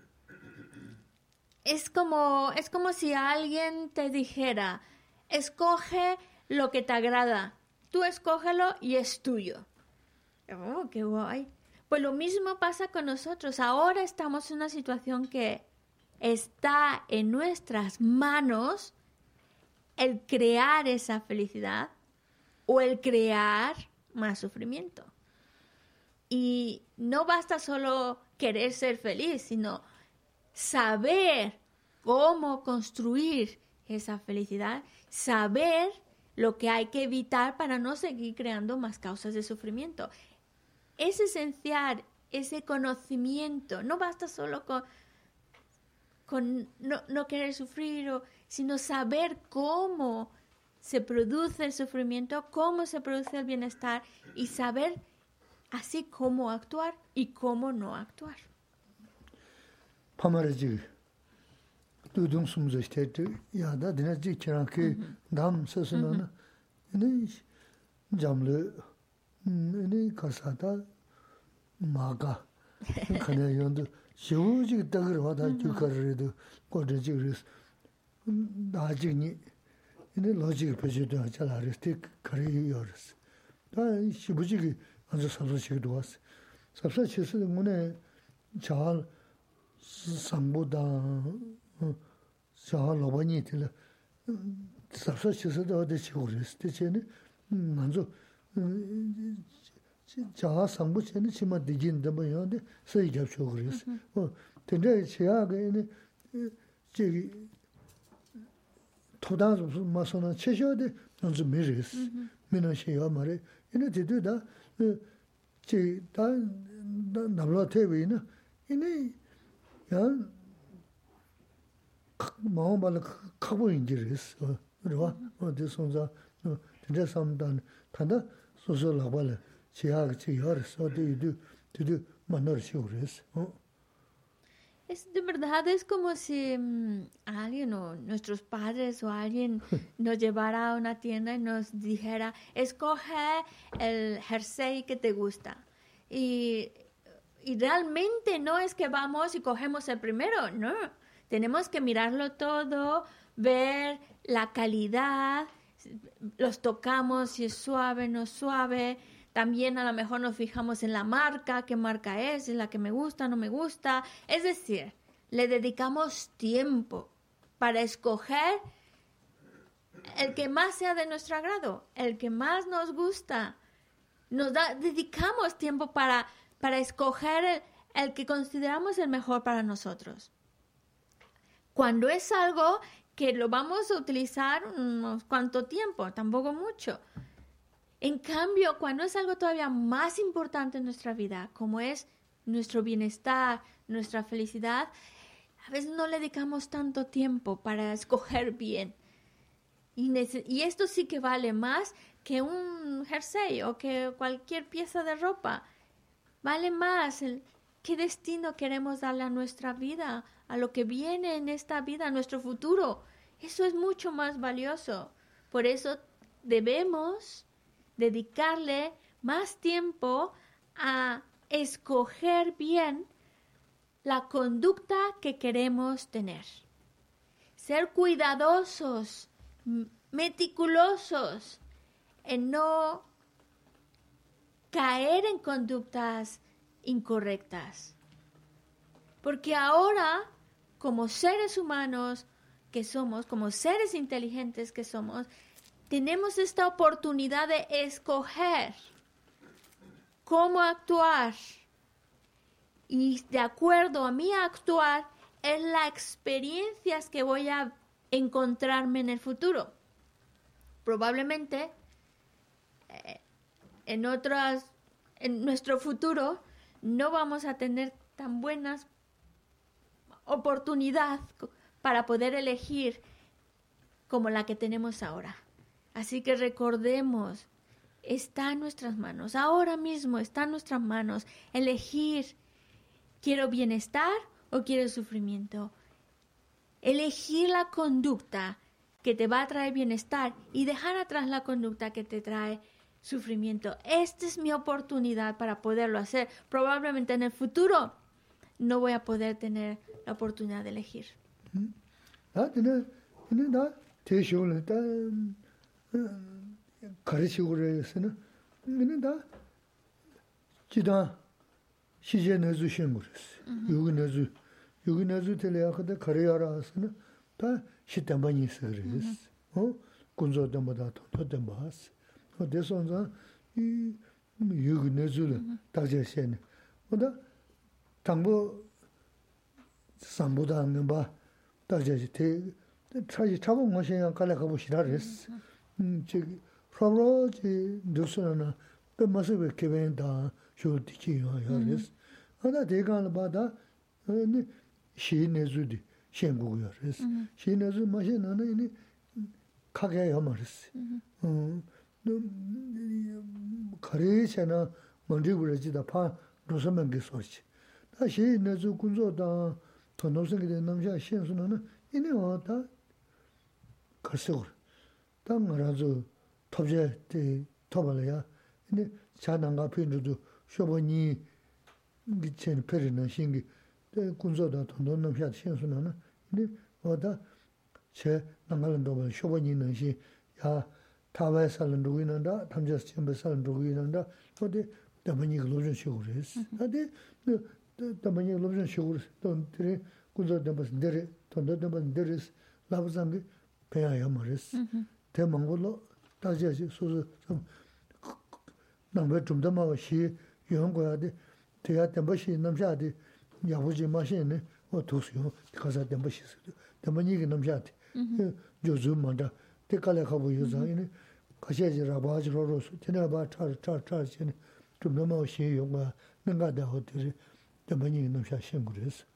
es como si alguien te dijera, escoge lo que te agrada, tú escógelo y es tuyo. Oh, qué guay. Pues lo mismo pasa con nosotros. Ahora estamos en una situación que está en nuestras manos el crear esa felicidad o el crear más sufrimiento. Y no basta solo querer ser feliz, sino saber cómo construir esa felicidad, saber lo que hay que evitar para no seguir creando más causas de sufrimiento. Es esencial ese conocimiento. No basta solo con no querer sufrir, sino saber cómo se produce el sufrimiento, cómo se produce el bienestar y saber así cómo actuar y cómo no actuar. Pamaraji, tudung sumzo shtete, ya da dina ji kiran ke dam sasuna na, ini jamle, ini kasata maga, kanya yondu, shivu ji dagarwa da jukarredu, kodre ji ris, da ji ni, ini logic pejidu ajalaris, tik kari yoris. Da shivu ji anzo sabsa chigdu was. Sabsa chisi mune chahal sambu da chahal lobani tila sabsa chisi da wade chiguris. Te chene anzo chahal sambu chene chima dijin dama yonde sayi gyab chiguris. Tende chiyaga ini chigi todan masona cheshode anzo miris. Mina shiya mare. Ini tidu da 지 다 남로 테비나 이네 야 마음발 가고 인지랬어 그래와 어디 손자 진짜 삼단 단다 소소라발 지하 지하서 어디 만날 수 그랬어 Es de verdad, es como si alguien o nuestros padres o alguien nos llevara a una tienda y nos dijera, escoge el jersey que te gusta. Y realmente no es que vamos y cogemos el primero, no. Tenemos que mirarlo todo, ver la calidad, los tocamos, si es suave, no es suave. También a lo mejor nos fijamos en la marca, qué marca es la que me gusta, no me gusta. Es decir, le dedicamos tiempo para escoger el que más sea de nuestro agrado, el que más nos gusta. Dedicamos tiempo para escoger el que consideramos el mejor para nosotros. Cuando es algo que lo vamos a utilizar unos cuanto tiempo, tampoco mucho. En cambio, cuando es algo todavía más importante en nuestra vida, como es nuestro bienestar, nuestra felicidad, a veces no le dedicamos tanto tiempo para escoger bien. Y esto sí que vale más que un jersey o que cualquier pieza de ropa. Vale más qué destino queremos darle a nuestra vida, a lo que viene en esta vida, a nuestro futuro. Eso es mucho más valioso. Por eso debemos dedicarle más tiempo a escoger bien la conducta que queremos tener. Ser cuidadosos, meticulosos en no caer en conductas incorrectas. Porque ahora, como seres humanos que somos, como seres inteligentes que somos, tenemos esta oportunidad de escoger cómo actuar. Y de acuerdo a mi actuar, es las experiencias que voy a encontrarme en el futuro. Probablemente en nuestro futuro no vamos a tener tan buenas oportunidades para poder elegir como la que tenemos ahora. Así que recordemos, está en nuestras manos, ahora mismo está en nuestras manos elegir, ¿quiero bienestar o quiero sufrimiento? Elegir la conducta que te va a traer bienestar y dejar atrás la conducta que te trae sufrimiento. Esta es mi oportunidad para poderlo hacer. Probablemente en el futuro no voy a poder tener la oportunidad de elegir. 가르치고래서는 이는 다 지다 시제내주 신고랬어. 여기 내주 teleyakada 가려라서는 다 시담반이 있어요. 군조 때마다 또 때마스 대선자 이 유그네줄 다제세네 뭐다 당부 삼보다는 봐 다제지 대 차지 차고 뭐시냐 갈래 가고 싫어했어 저기 프로로지 누스나 그 모습을 개변다 쇼티지요 야레스 하나 대간을 받아 네 시내주디 시행국이야레스 시내주 마시나는 이 가게 야마레스 가래잖아 먼저부러지다 파 로서면 게 소치 다시 내주 군조다 더 노생이 된 남자 시행수는 이네 왔다 가서 당라서 톱제 때 톱을야 근데 자난가 편도 쇼보니 미친 페르는 신기 군조다 더 남자 시행수는 이네 왔다 제 남갈도 쇼보니는 시야 타와에 살는 누구인다 담자스 쳔베 살는 누구인다 어디 담니 글로전 쇼그레스 어디 담니 글로전 쇼그레스 돈들이 군조 담바스 데레 돈도 담바스 데레스 라부상게 배야야 말레스 대망골로 다지지 소소 좀 남베 좀더 마시 연구하데 대야 담바시 남자데 야부지 마시네 도수요 가서 담바시 담니 남자데 조즈만다 대깔에 가고 요ዛ이네 가셔지라 바지로로서 지나봐 차차차시네 좀 너무 쉬용가 능가다 호텔이 담니 남자 신고레스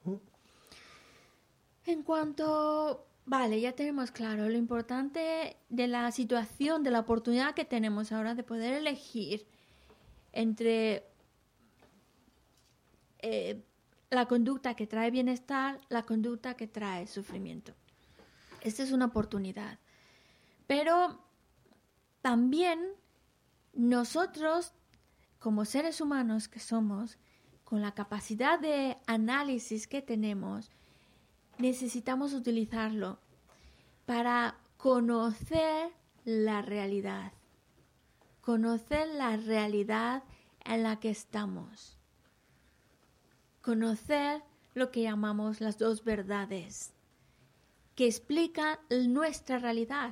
En cuanto, vale, ya tenemos claro lo importante de la situación, de la oportunidad que tenemos ahora de poder elegir entre la conducta que trae bienestar, la conducta que trae sufrimiento. Esta es una oportunidad. Pero también nosotros, como seres humanos que somos, con la capacidad de análisis que tenemos, necesitamos utilizarlo para conocer la realidad en la que estamos, conocer lo que llamamos las dos verdades que explican nuestra realidad,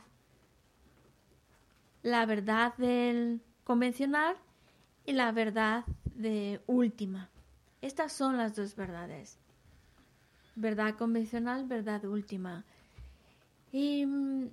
la verdad del convencional y la verdad de última. Estas son las dos verdades. Verdad convencional, verdad última. Y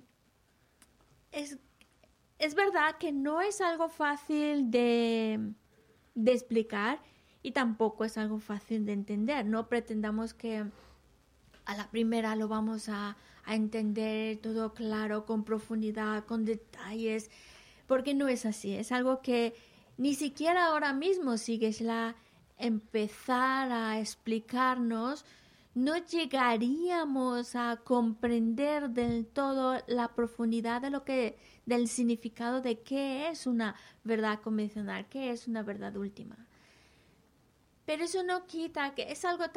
es verdad que no es algo fácil de explicar y tampoco es algo fácil de entender. No pretendamos que a la primera lo vamos a entender todo claro, con profundidad, con detalles, porque no es así. Es algo que ni siquiera ahora mismo, si Geshe-la empezara a explicarnos, no llegaríamos a comprender del todo la profundidad del significado de qué es una verdad convencional, qué es una verdad última. Pero eso no quita que es algo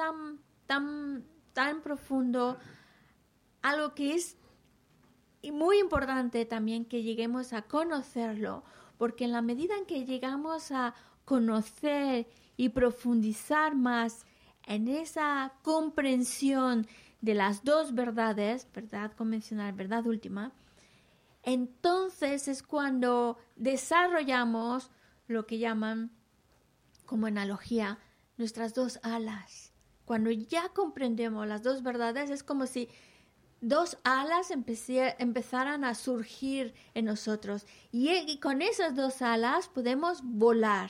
tan profundo, algo que es muy importante también que lleguemos a conocerlo, porque en la medida en que llegamos a conocer y profundizar más en esa comprensión de las dos verdades, verdad convencional, verdad última, entonces es cuando desarrollamos lo que llaman, como analogía, nuestras dos alas. Cuando ya comprendemos las dos verdades, es como si dos alas empezaran a surgir en nosotros. Y con esas dos alas podemos volar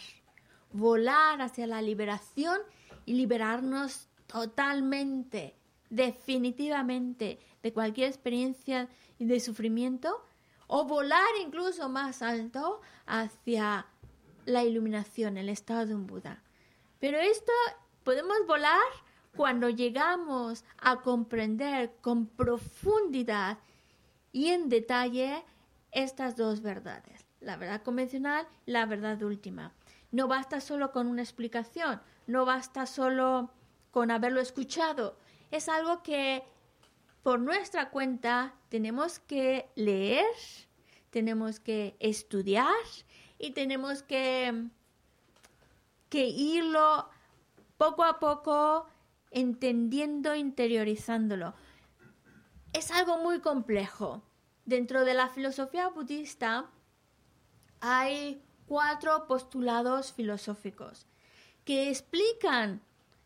hacia la liberación y liberarnos totalmente, definitivamente, de cualquier experiencia de sufrimiento, o volar incluso más alto hacia la iluminación, el estado de un Buda. Pero esto podemos volar cuando llegamos a comprender con profundidad y en detalle estas dos verdades, la verdad convencional y la verdad última. No basta solo con una explicación, no basta solo con haberlo escuchado. Es algo que por nuestra cuenta tenemos que leer, tenemos que estudiar y tenemos que irlo poco a poco entendiendo, interiorizándolo. Es algo muy complejo, dentro de la filosofía budista hay 4 postulados filosóficos que explican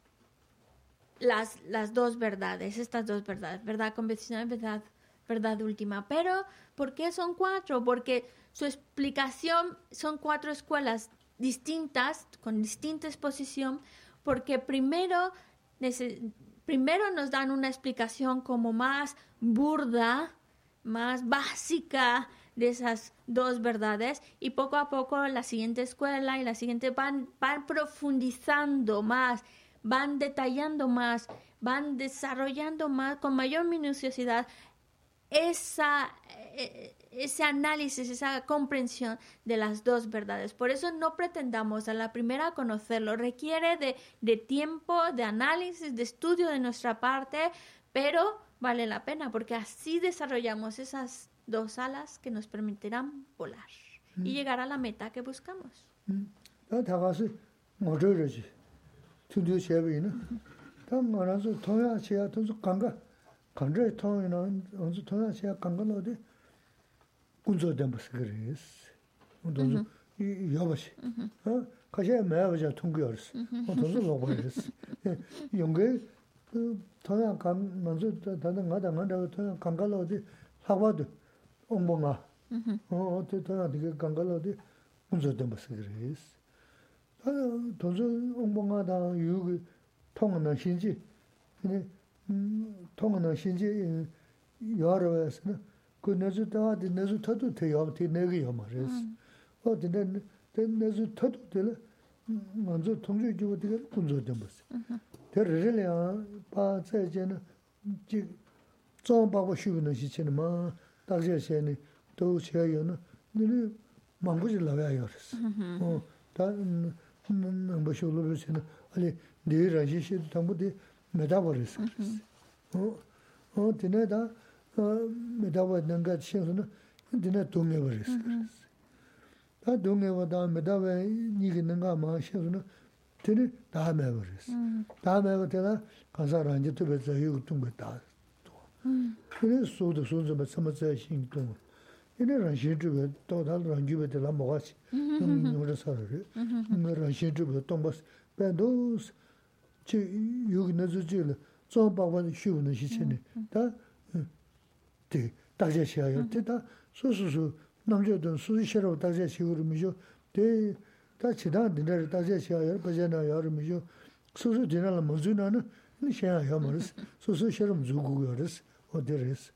las dos verdades, estas dos verdades, verdad convencional y verdad última. Pero, ¿por qué son 4? Porque su explicación son 4 escuelas distintas, con distinta exposición, porque primero nos dan una explicación como más burda, más básica de esas dos verdades, y poco a poco la siguiente escuela y la siguiente van profundizando más, van detallando más, van desarrollando más con mayor minuciosidad ese análisis, esa comprensión de las dos verdades. Por eso no pretendamos a la primera conocerlo, requiere de tiempo, de análisis, de estudio de nuestra parte, pero vale la pena porque así desarrollamos esas 2 alas que nos permitirán volar y llegar a la meta que buscamos. 간제 통이나 언제 통하시야 간거로데 군조 댐스그레스 언제 이 여버시 가셔야 매버자 통교르스 언제 로버스 용게 통야 간 먼저 다른 가다가 통야 간거로데 하와도 옹봉아 어때 통야 되게 간거로데 군조 댐스그레스 돈저 옹봉아다 유기 통하는 신지 근데 통하는 신지 여러 회에서는 그 내주다가 내주 터도 돼요. 내기요 말이었어. 근데 내주 터도 될 먼저 통주 주고 되게 군조된 거지. 대르려야 바제제는 지 좀바고 쉬는 시체는 뭐 딱제세는 또 제여는 너는 망고질 나와야 그랬어. 다 뭐쇼로 버시는 아니 내일 아시시도 당부디 메타버스. 디네다 메타버는 것 신선은 디네 동네버스. 다 동네보다 메타버 니기는가 마 신선은 디네 다메버스. 다메버가 가사랑 이제 또서 이거 다. 그래 소도 소도 참아서 신동. 이네랑 신주가 또 다른 주베들 먹었지. 그래서를. 이네랑 신주가 또 뭐 배도스 지 여기 내주질 좀 봐봐 쉬우는 시체네 다 네, 다제시아요. 다 소소소 남자들 수시로 다제시우를 미죠. 대 다치다들 다제시아요. 버전아 여름이죠. 소소 지나라 먼저는 시야요 말스. 소소처럼 주고요스. 어디레스.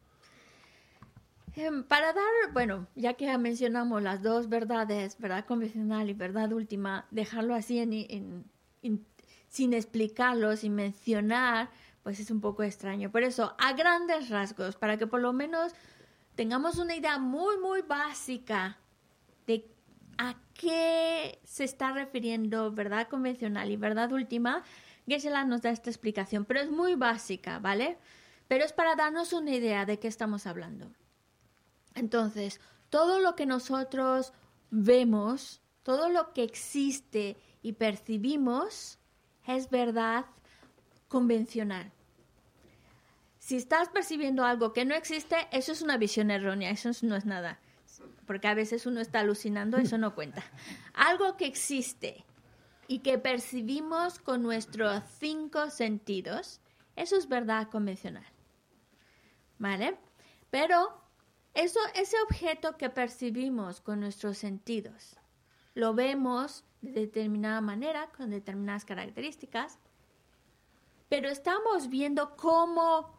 Para dar, bueno, ya que mencionamos las dos verdades, verdad convencional y verdad última, dejarlo así sin explicarlo, sin mencionar, pues es un poco extraño. Por eso, a grandes rasgos, para que por lo menos tengamos una idea muy, muy básica de a qué se está refiriendo verdad convencional y verdad última, Geshe-la nos da esta explicación, pero es muy básica, ¿vale? Pero es para darnos una idea de qué estamos hablando. Entonces, todo lo que nosotros vemos, todo lo que existe y percibimos es verdad convencional. Si estás percibiendo algo que no existe, eso es una visión errónea, eso no es nada. Porque a veces uno está alucinando, eso no cuenta. Algo que existe y que percibimos con nuestros 5 sentidos, eso es verdad convencional. ¿Vale? Pero ese objeto que percibimos con nuestros sentidos, lo vemos de determinada manera, con determinadas características, pero estamos viendo cómo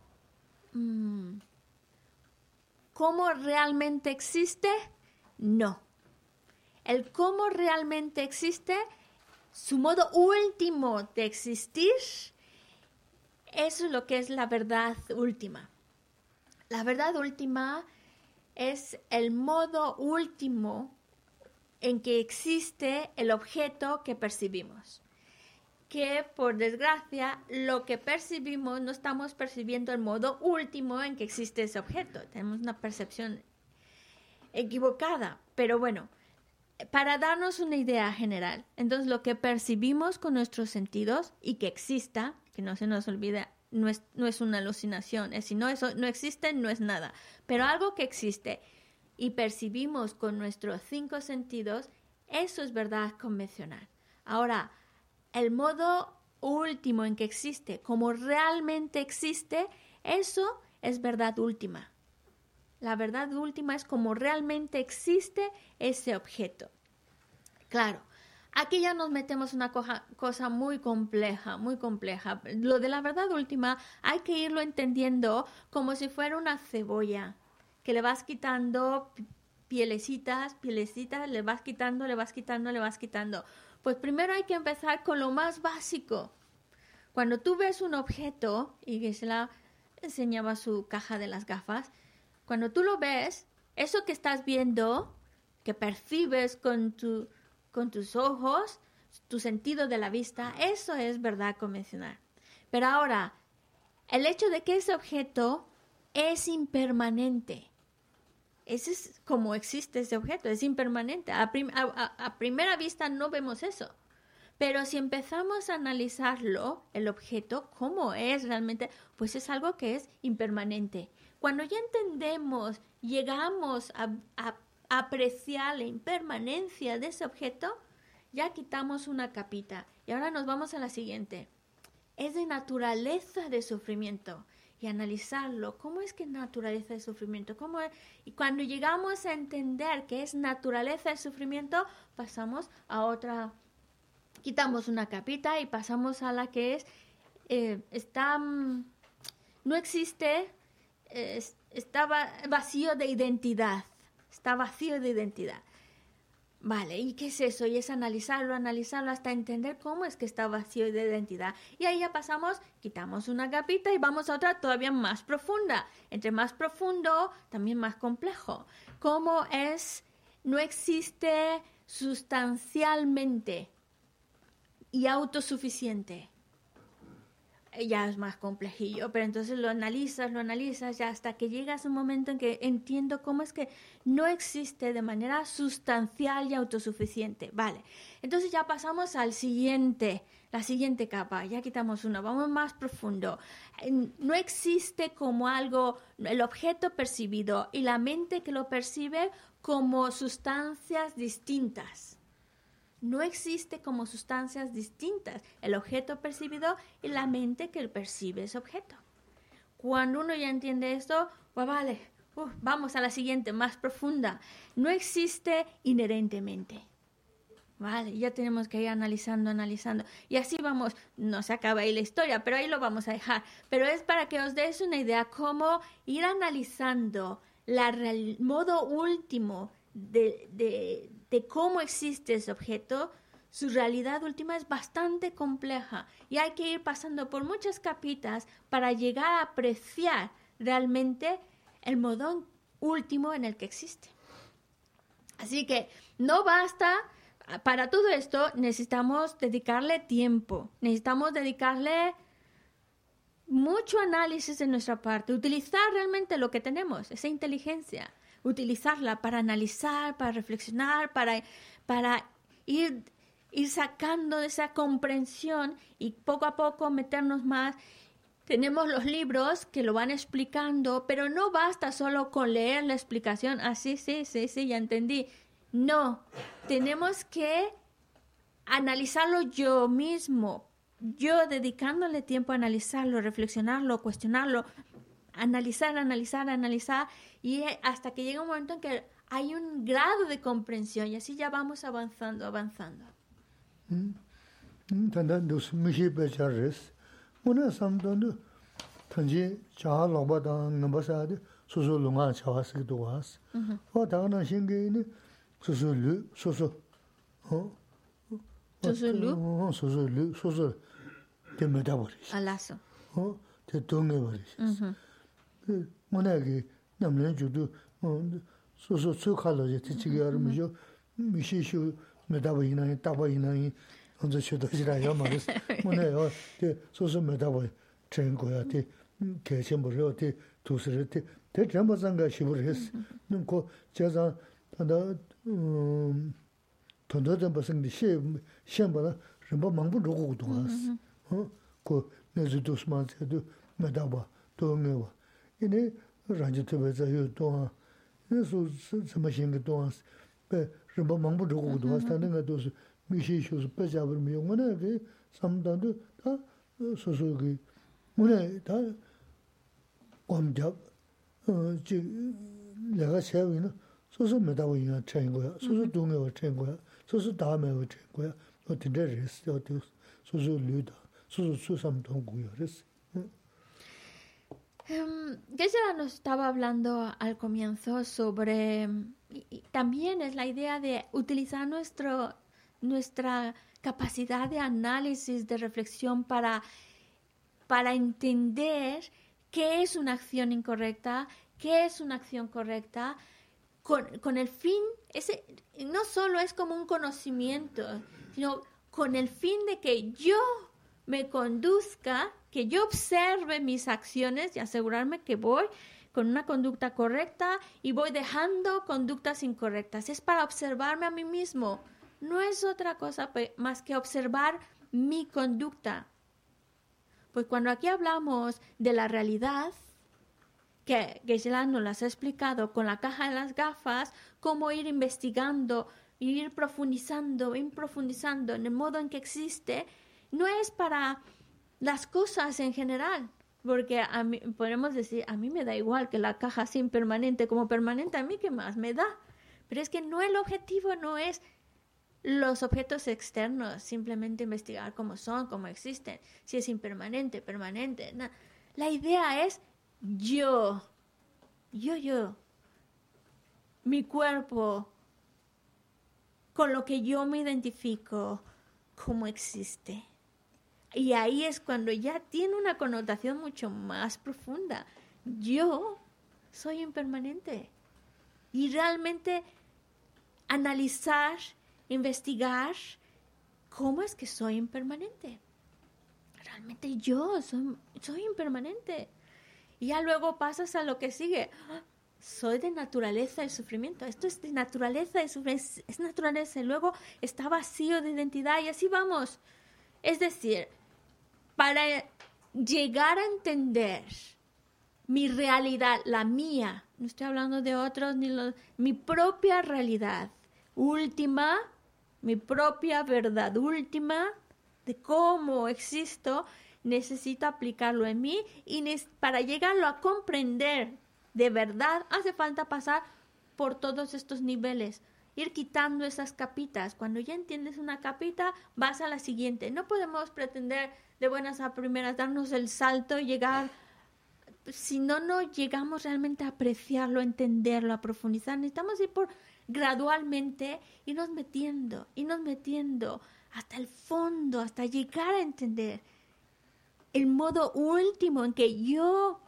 realmente existe. No. El cómo realmente existe, su modo último de existir, eso es lo que es la verdad última. La verdad última es el modo último en que existe el objeto que percibimos. Que, por desgracia, lo que percibimos no estamos percibiendo el modo último en que existe ese objeto. Tenemos una percepción equivocada. Pero bueno, para darnos una idea general, entonces lo que percibimos con nuestros sentidos y que exista, que no se nos olvide no es una alucinación. Es si no, eso no existe, no es nada. Pero algo que existe y percibimos con nuestros 5 sentidos, eso es verdad convencional. Ahora, el modo último en que existe, como realmente existe, eso es verdad última. La verdad última es como realmente existe ese objeto. Claro, aquí ya nos metemos una cosa muy compleja, muy compleja. Lo de la verdad última hay que irlo entendiendo como si fuera una cebolla, que le vas quitando pielecitas, le vas quitando. Pues primero hay que empezar con lo más básico. Cuando tú ves un objeto, y Geshe-la enseñaba su caja de las gafas, cuando tú lo ves, eso que estás viendo, que percibes con tus ojos, tu sentido de la vista, eso es verdad convencional. Pero ahora, el hecho de que ese objeto es impermanente, ese es como existe ese objeto, es impermanente. A primera vista no vemos eso. Pero si empezamos a analizarlo, el objeto, cómo es realmente, pues es algo que es impermanente. Cuando ya entendemos, llegamos a apreciar la impermanencia de ese objeto, ya quitamos una capita. Y ahora nos vamos a la siguiente. Es de naturaleza de sufrimiento. Y analizarlo, ¿cómo es que es naturaleza de sufrimiento? ¿Cómo es? Y cuando llegamos a entender que es naturaleza de sufrimiento, pasamos a otra, quitamos una capita y pasamos a la que es, no existe, está vacío de identidad. Está vacío de identidad. Vale, ¿y qué es eso? Y es analizarlo hasta entender cómo es que está vacío de identidad. Y ahí ya pasamos, quitamos una capita y vamos a otra todavía más profunda. Entre más profundo, también más complejo. ¿Cómo es? No existe sustancialmente y autosuficiente. Ya es más complejillo, pero entonces lo analizas ya hasta que llegas a un momento en que entiendo cómo es que no existe de manera sustancial y autosuficiente. Vale, entonces ya pasamos al la siguiente capa, ya quitamos una, vamos más profundo. No existe como algo, el objeto percibido y la mente que lo percibe como sustancias distintas. No existe como sustancias distintas el objeto percibido y la mente que percibe ese objeto. Cuando uno ya entiende esto, pues vale, vamos a la siguiente, más profunda. No existe inherentemente. Vale, ya tenemos que ir analizando. Y así vamos, no se acaba ahí la historia, pero ahí lo vamos a dejar. Pero es para que os deis una idea cómo ir analizando el modo último de cómo existe ese objeto. Su realidad última es bastante compleja y hay que ir pasando por muchas capitas para llegar a apreciar realmente el modo último en el que existe. Así que no basta, para todo esto necesitamos dedicarle tiempo, necesitamos dedicarle mucho análisis de nuestra parte, utilizar realmente lo que tenemos, esa inteligencia. Utilizarla para analizar, para reflexionar, para ir sacando de esa comprensión y poco a poco meternos más. Tenemos los libros que lo van explicando, pero no basta solo con leer la explicación. Sí, ya entendí. No, tenemos que analizarlo yo mismo, yo dedicándole tiempo a analizarlo, reflexionarlo, cuestionarlo, analizar y hasta que llega un momento en que hay un grado de comprensión y así ya vamos avanzando. Alazo. monagi namlen judu so khalo je tichigar mijo mishishu medaba ina taba ina onzo shodo jira ya maris monayo te so medaba trengo ya te kechen boro te tusre te jambo zanga shibures nunko jaza tada tondo de basing de shembala rimba mangbu rogo duas ko nezu dosman se do medaba tongewa ine ranji tebe zayo toa eso sama shinga toa pe rimba mangbu jogo toa standinga dos mishi shos pe jabur mi ngone ke samdandu ta soso ki mune ta kwamjab ji 내가 세우이나 소소 메다고 이나 train 거야. 소소 동네와 train 거야. 소소 다음에와 train 거야. 어떤 데레스 어디 소소 류다. 소소 수삼 동구야. 그랬어. Geshe-la nos estaba hablando al comienzo sobre, y también es la idea de utilizar nuestra capacidad de análisis, de reflexión para entender qué es una acción incorrecta, qué es una acción correcta, con el fin, no solo es como un conocimiento, sino con el fin de que yo me conduzca, que yo observe mis acciones y asegurarme que voy con una conducta correcta y voy dejando conductas incorrectas. Es para observarme a mí mismo. No es otra cosa más que observar mi conducta. Pues cuando aquí hablamos de la realidad, que Geshe-la nos las ha explicado con la caja de las gafas, cómo ir investigando, ir profundizando en el modo en que existe, no es para las cosas en general, porque a mí, podemos decir, a mí me da igual que la caja sea impermanente como permanente, a mí qué más me da. Pero es que no, el objetivo no es los objetos externos, simplemente investigar cómo son, cómo existen, si es impermanente, permanente. No. La idea es yo, mi cuerpo, con lo que yo me identifico, cómo existe. Y ahí es cuando ya tiene una connotación mucho más profunda. Yo soy impermanente. Y realmente analizar, investigar, ¿cómo es que soy impermanente? Realmente yo soy impermanente. Y ya luego pasas a lo que sigue. Soy de naturaleza y sufrimiento. Esto es de naturaleza y sufrimiento. Es naturaleza. Y luego está vacío de identidad. Y así vamos. Es decir, para llegar a entender mi realidad, la mía, no estoy hablando de otros, mi propia realidad última, mi propia verdad última de cómo existo, necesito aplicarlo en mí y para llegarlo a comprender de verdad hace falta pasar por todos estos niveles, ir quitando esas capitas. Cuando ya entiendes una capita, vas a la siguiente. No podemos pretender de buenas a primeras darnos el salto y llegar, si no llegamos realmente a apreciarlo, a entenderlo, a profundizar. Necesitamos ir gradualmente, irnos metiendo hasta el fondo, hasta llegar a entender el modo último en que yo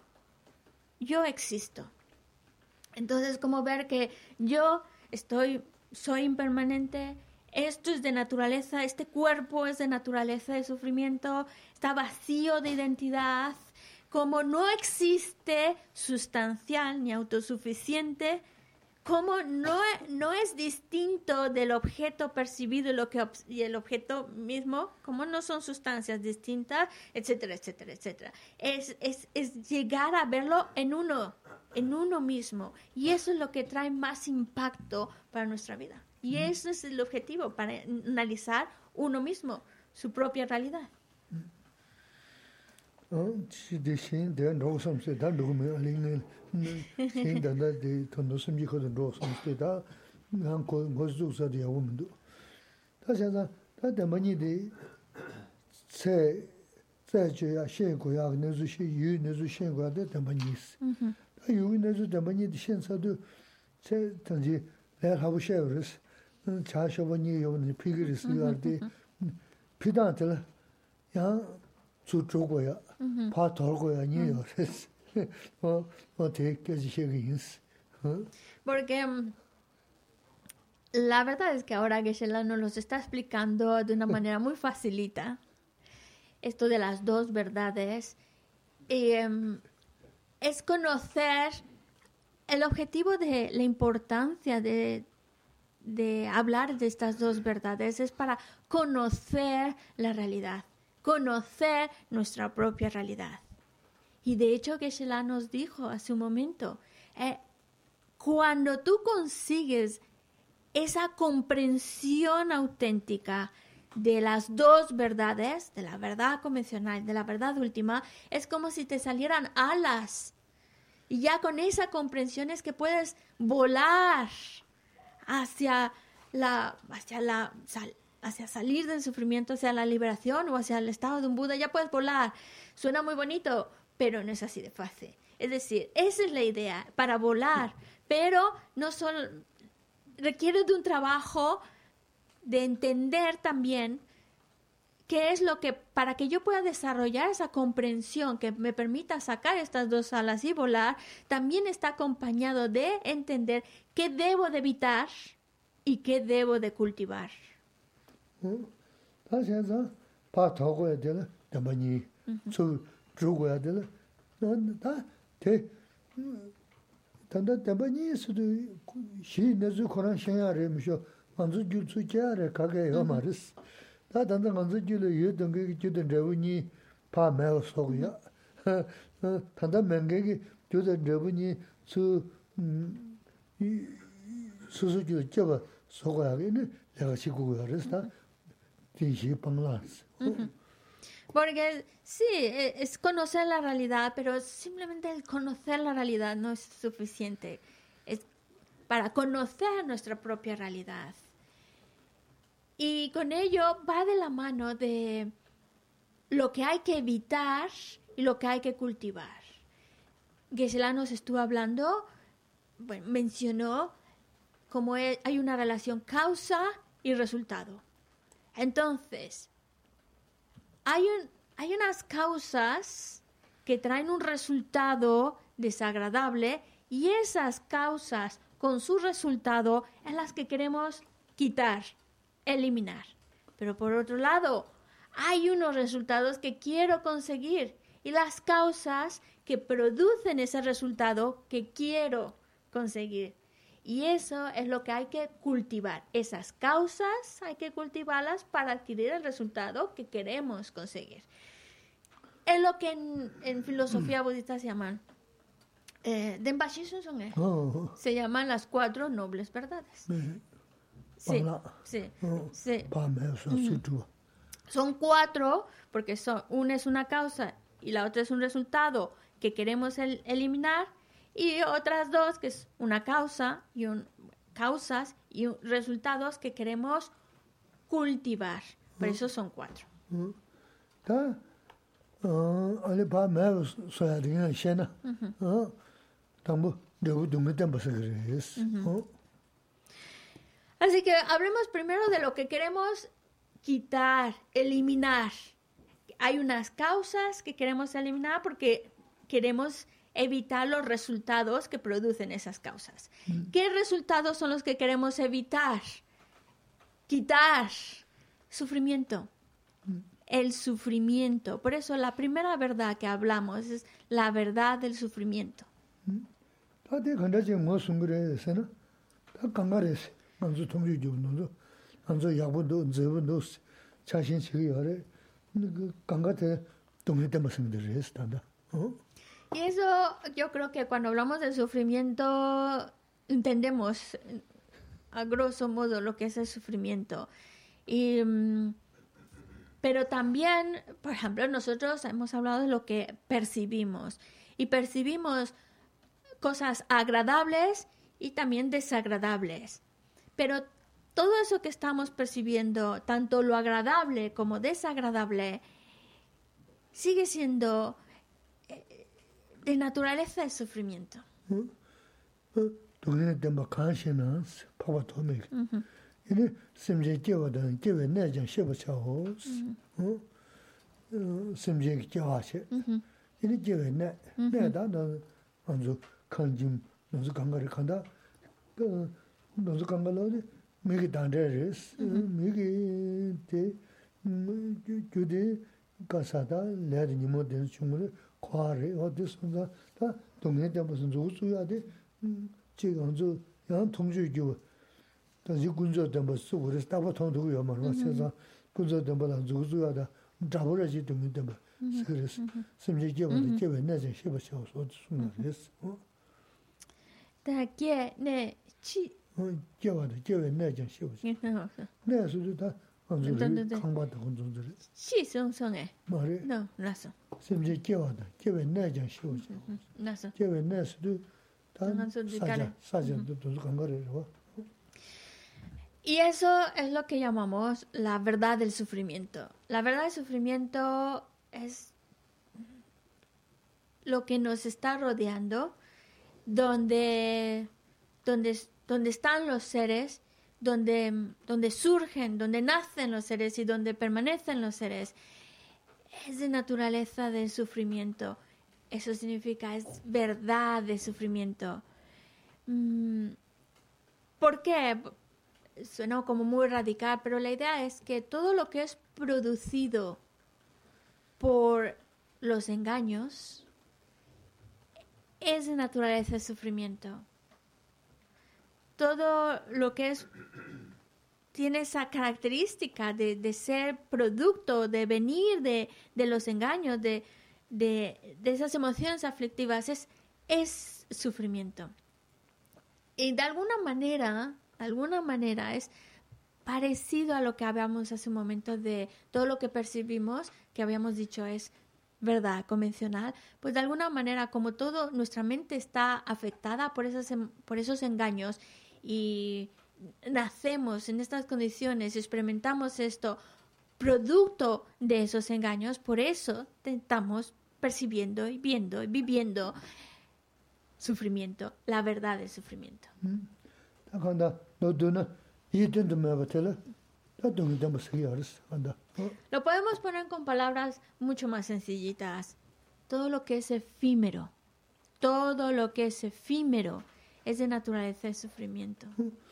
existo. Entonces, como ver que yo soy impermanente, esto es de naturaleza, este cuerpo es de naturaleza de sufrimiento, está vacío de identidad, como no existe sustancial ni autosuficiente, como no es distinto del objeto percibido y el objeto mismo, como no son sustancias distintas, etcétera, etcétera, etcétera. Es llegar a verlo en uno mismo. Y eso es lo que trae más impacto para nuestra vida. Y eso es el objetivo, para analizar uno mismo, su propia realidad. Porque la verdad es que ahora Geshe-la nos los está explicando de una manera muy facilita, esto de las dos verdades, es conocer el objetivo de la importancia de hablar de estas dos verdades, es para conocer la realidad, conocer nuestra propia realidad. Y de hecho Geshe-la nos dijo hace un momento, cuando tú consigues esa comprensión auténtica de las dos verdades, de la verdad convencional y de la verdad última, es como si te salieran alas. Y ya con esa comprensión es que puedes volar hacia salir del sufrimiento, hacia la liberación o hacia el estado de un Buda. Ya puedes volar. Suena muy bonito, pero no es así de fácil. Es decir, esa es la idea, para volar, pero no solo requiere de un trabajo de entender también qué es lo que, para que yo pueda desarrollar esa comprensión que me permita sacar estas dos alas y volar, también está acompañado de entender qué debo de evitar y qué debo de cultivar. Porque sí, es conocer la realidad, pero simplemente el conocer la realidad no es suficiente. Es para conocer nuestra propia realidad. Y con ello va de la mano de lo que hay que evitar y lo que hay que cultivar. Geshe-la nos estuvo hablando, bueno, mencionó cómo hay una relación causa y resultado. Entonces, hay unas causas que traen un resultado desagradable y esas causas con su resultado es las que queremos quitar, eliminar. Pero por otro lado, hay unos resultados que quiero conseguir y las causas que producen ese resultado que quiero conseguir. Y eso es lo que hay que cultivar. Esas causas hay que cultivarlas para adquirir el resultado que queremos conseguir. Es lo que en filosofía budista se llaman Denpa-shi Sunsung-e. Se llaman las 4 nobles verdades. Sí, sí, sí. Son 4 porque una es una causa y la otra es un resultado que queremos eliminar. Y otras 2, que es una causa y causas y resultados que queremos cultivar. Por eso son 4. Así que hablemos primero de lo que queremos quitar, eliminar. Hay unas causas que queremos eliminar porque queremos evitar los resultados que producen esas causas. ¿Qué resultados son los que queremos evitar? Quitar. Sufrimiento. El sufrimiento. Por eso la primera verdad que hablamos es la verdad del sufrimiento. Y eso yo creo que cuando hablamos del sufrimiento entendemos a grosso modo lo que es el sufrimiento. Pero también, por ejemplo, nosotros hemos hablado de lo que percibimos. Y percibimos cosas agradables y también desagradables. Pero todo eso que estamos percibiendo, tanto lo agradable como desagradable, sigue siendo de naturaleza el sufrimiento. Seres. Simje lleva, lleva najan sheba chao so sunares. Da que ne chi. Lleva najan sheba. Ne su da anzuri kangba da konzuri. Chi song song Mare. No, naso. Simje lleva najan sheba. Naso. Lleva nasu da saja do kangare ro. Y eso es lo que llamamos la verdad del sufrimiento. La verdad del sufrimiento es lo que nos está rodeando, donde están los seres, donde surgen, donde nacen los seres y donde permanecen los seres. Es de naturaleza del sufrimiento. Eso significa, es verdad del sufrimiento. ¿Por qué? Suena como muy radical, pero la idea es que todo lo que es producido por los engaños es de naturaleza de sufrimiento. Todo lo que tiene esa característica de ser producto, de venir de los engaños, de esas emociones aflictivas, es sufrimiento. Y de alguna manera es parecido a lo que habíamos hace un momento de todo lo que percibimos, que habíamos dicho es verdad convencional, pues de alguna manera como todo, nuestra mente está afectada por esos engaños y nacemos en estas condiciones, experimentamos esto producto de esos engaños, por eso estamos percibiendo y viendo y viviendo sufrimiento, la verdad del sufrimiento. Lo podemos poner con palabras mucho más sencillitas. Todo lo que es efímero es de naturaleza de sufrimiento.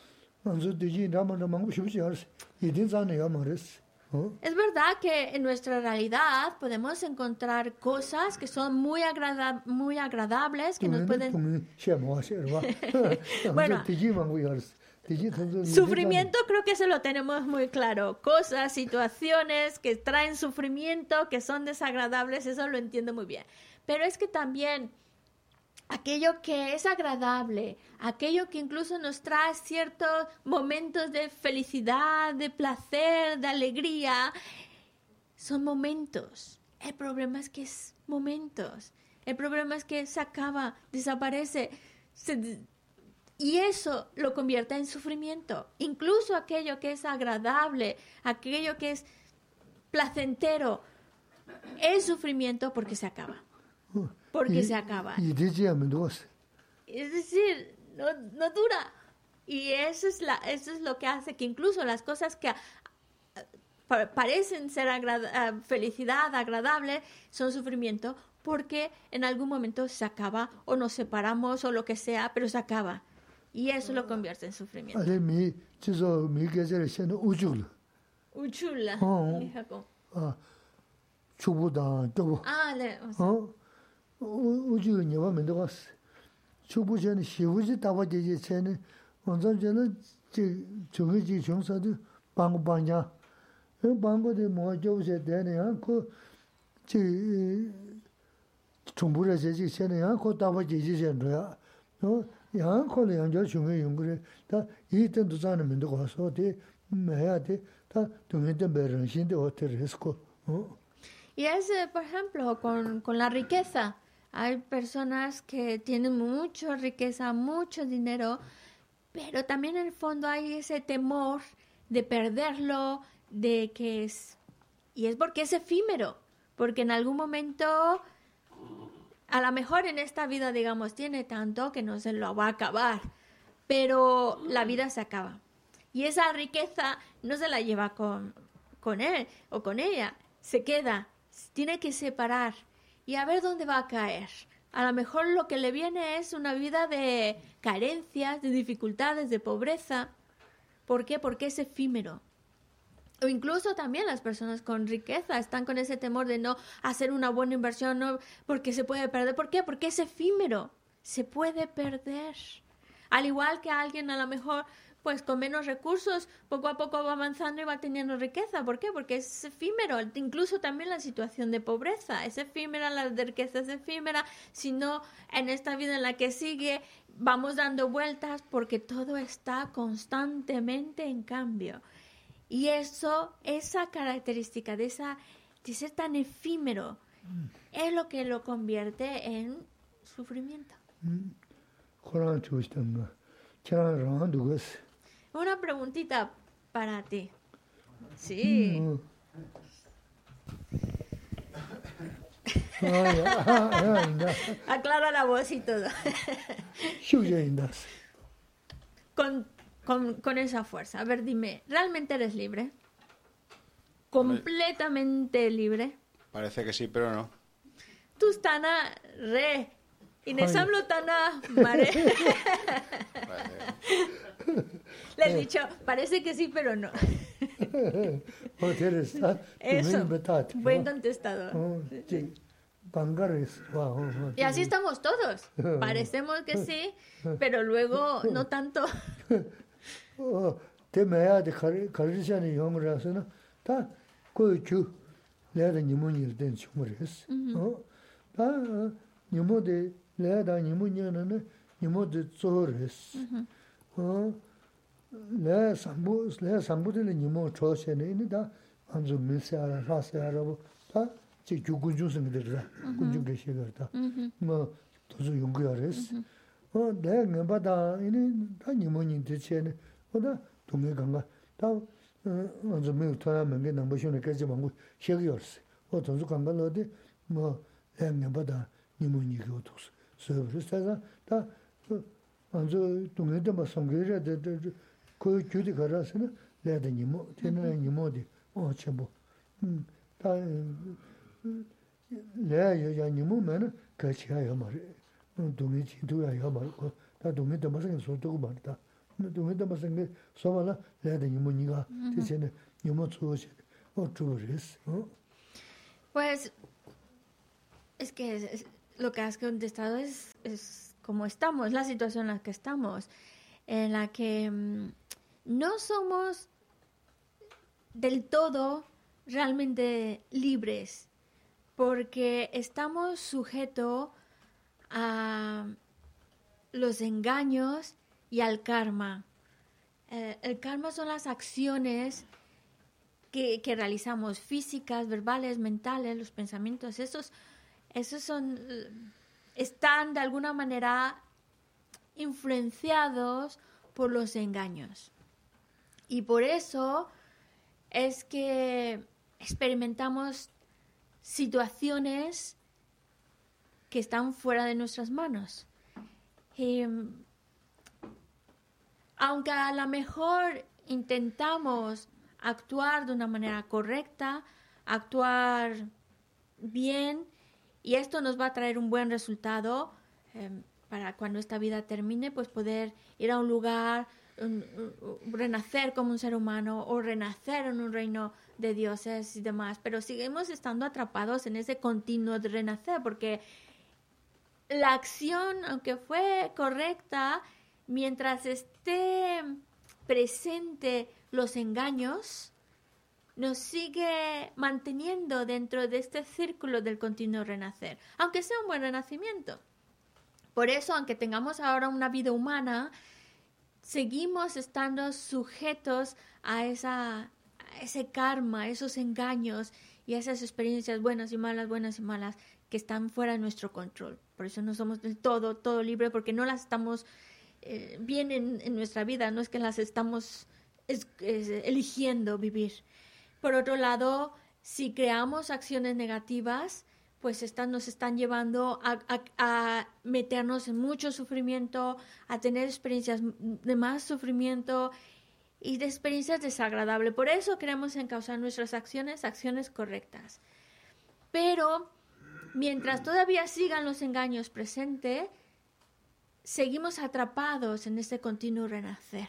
Es verdad que en nuestra realidad podemos encontrar cosas que son muy agradables, que nos pueden... Bueno, sufrimiento creo que eso lo tenemos muy claro. Cosas, situaciones que traen sufrimiento, que son desagradables, eso lo entiendo muy bien. Pero es que también aquello que es agradable, aquello que incluso nos trae ciertos momentos de felicidad, de placer, de alegría, son momentos. El problema es que es momentos. El problema es que se acaba, desaparece, y eso lo convierte en sufrimiento. Incluso aquello que es agradable, aquello que es placentero, es sufrimiento porque se acaba. Porque se acaba. Es decir, no dura. Y eso es lo que hace que incluso las cosas que parecen ser felicidad, agradable, son sufrimiento porque en algún momento se acaba o nos separamos o lo que sea, pero se acaba. Y eso lo convierte en sufrimiento. Uchula. 우주 녀와면도 왔어. 초보전에 시부지 다와제제 전에 원전전은 저기 정사도 방방냐. 방법에 뭐 저세 되네요. 정부를 제지 전에야 그 다와제제 전도야. 야 콜에 연결 중에 연구를 다 이때도 자는면도 와서 돼 해야 돼. 다 동행된 배런신데 어떻게 했고. Y es, por ejemplo, con la riqueza. Hay personas que tienen mucha riqueza, mucho dinero, pero también en el fondo hay ese temor de perderlo, y es porque es efímero, porque en algún momento, a lo mejor en esta vida, digamos, tiene tanto que no se lo va a acabar, pero la vida se acaba. Y esa riqueza no se la lleva con él o con ella, se queda, tiene que separar. Y a ver dónde va a caer. A lo mejor lo que le viene es una vida de carencias, de dificultades, de pobreza. ¿Por qué? Porque es efímero. O incluso también las personas con riqueza están con ese temor de no hacer una buena inversión, no, porque se puede perder. ¿Por qué? Porque es efímero. Se puede perder. Al igual que alguien a lo mejor pues con menos recursos, poco a poco va avanzando y va teniendo riqueza. ¿Por qué? Porque es efímero. Incluso también la situación de pobreza es efímera, la de riqueza es efímera. Si no, en esta vida en la que sigue, vamos dando vueltas porque todo está constantemente en cambio. Y eso, esa característica de ser tan efímero, es lo que lo convierte en sufrimiento. Una preguntita para ti. Sí. Aclara la voz y todo. Con esa fuerza. A ver, dime, ¿realmente eres libre? ¿Completamente libre? Parece que sí, pero no. Tú estás re. Inés hablo tan mare. Le he dicho, parece que sí, pero no. Eso, buen contestador. Y así estamos todos. Parecemos que sí, pero luego no tanto. Pues es que lo que has contestado es como estamos, la situación en la que estamos, en la que no somos del todo realmente libres, porque estamos sujetos a los engaños y al karma. El karma son las acciones que realizamos, físicas, verbales, mentales, los pensamientos. Esos están de alguna manera influenciados por los engaños. Y por eso es que experimentamos situaciones que están fuera de nuestras manos. Aunque a lo mejor intentamos actuar de una manera correcta, actuar bien, y esto nos va a traer un buen resultado para cuando esta vida termine, pues poder ir a un lugar, renacer como un ser humano o renacer en un reino de dioses y demás, pero seguimos estando atrapados en ese continuo de renacer, porque la acción, aunque fue correcta, mientras esté presente los engaños, nos sigue manteniendo dentro de este círculo del continuo renacer, aunque sea un buen renacimiento. Por eso, aunque tengamos ahora una vida humana, seguimos estando sujetos a ese karma, a esos engaños y a esas experiencias buenas y malas, que están fuera de nuestro control. Por eso no somos del todo libres, porque no las estamos bien en nuestra vida, no es que las estamos eligiendo vivir. Por otro lado, si creamos acciones negativas, pues estas nos están llevando a meternos en mucho sufrimiento, a tener experiencias de más sufrimiento y de experiencias desagradables. Por eso queremos encauzar nuestras acciones correctas. Pero mientras todavía sigan los engaños presentes, seguimos atrapados en este continuo renacer.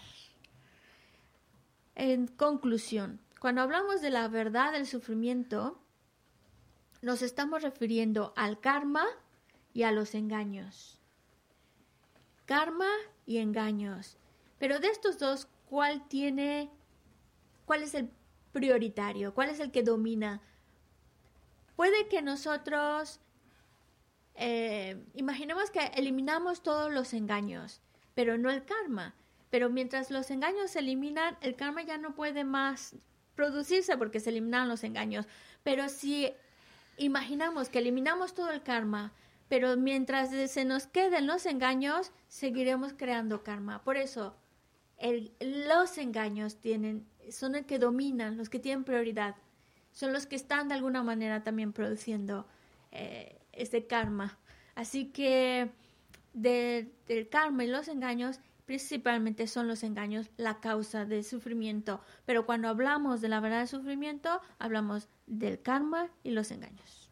En conclusión, cuando hablamos de la verdad del sufrimiento, nos estamos refiriendo al karma y a los engaños. Karma y engaños. Pero de estos dos, cuál es el prioritario, cuál es el que domina. Puede que nosotros imaginemos que eliminamos todos los engaños, pero no el karma. Pero mientras los engaños se eliminan, el karma ya no puede más producirse porque se eliminan los engaños. Pero si imaginamos que eliminamos todo el karma, pero mientras se nos queden los engaños, seguiremos creando karma. Por eso, los engaños son el que dominan, los que tienen prioridad. Son los que están de alguna manera también produciendo este karma. Así que del karma y los engaños, principalmente son los engaños la causa del sufrimiento. Pero cuando hablamos de la verdad del sufrimiento, hablamos del karma y los engaños.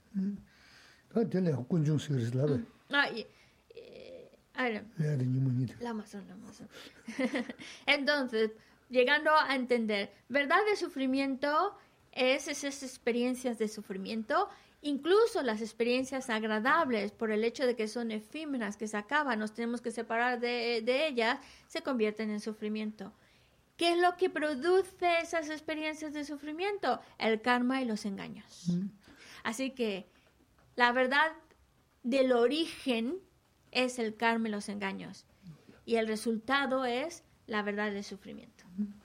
Entonces, llegando a entender, verdad de sufrimiento es esas experiencias de sufrimiento, incluso las experiencias agradables, por el hecho de que son efímeras, que se acaban, nos tenemos que separar de ellas, se convierten en sufrimiento. ¿Qué es lo que produce esas experiencias de sufrimiento? El karma y los engaños. Así que la verdad del origen es el karma y los engaños. Y el resultado es la verdad del sufrimiento.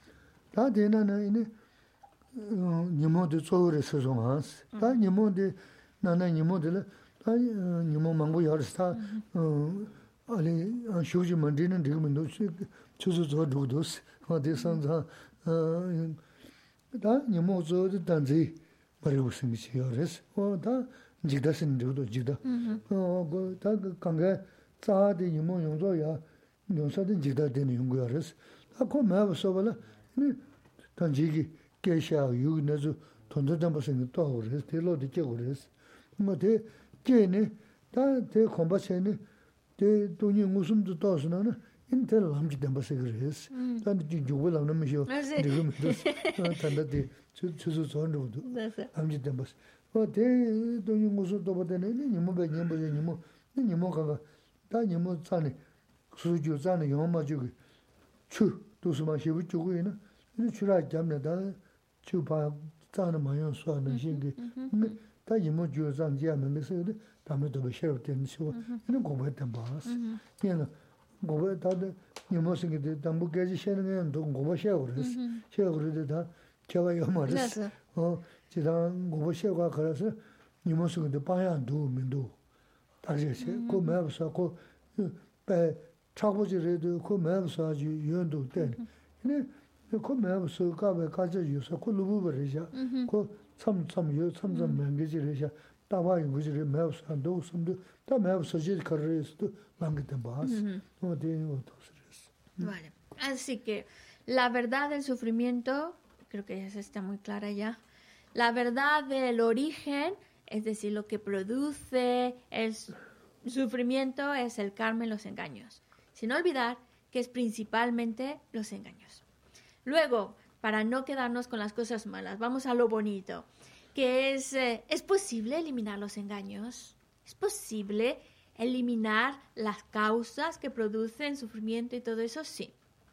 Vale. Así que la verdad del sufrimiento, creo que ya está muy clara ya. La verdad del origen, es decir, lo que produce el sufrimiento es el karma y los engaños. Sin olvidar que es principalmente los engaños. Luego, para no quedarnos con las cosas malas, vamos a lo bonito, que ¿es posible eliminar los engaños? ¿Es posible eliminar las causas que producen sufrimiento y todo eso? Sí.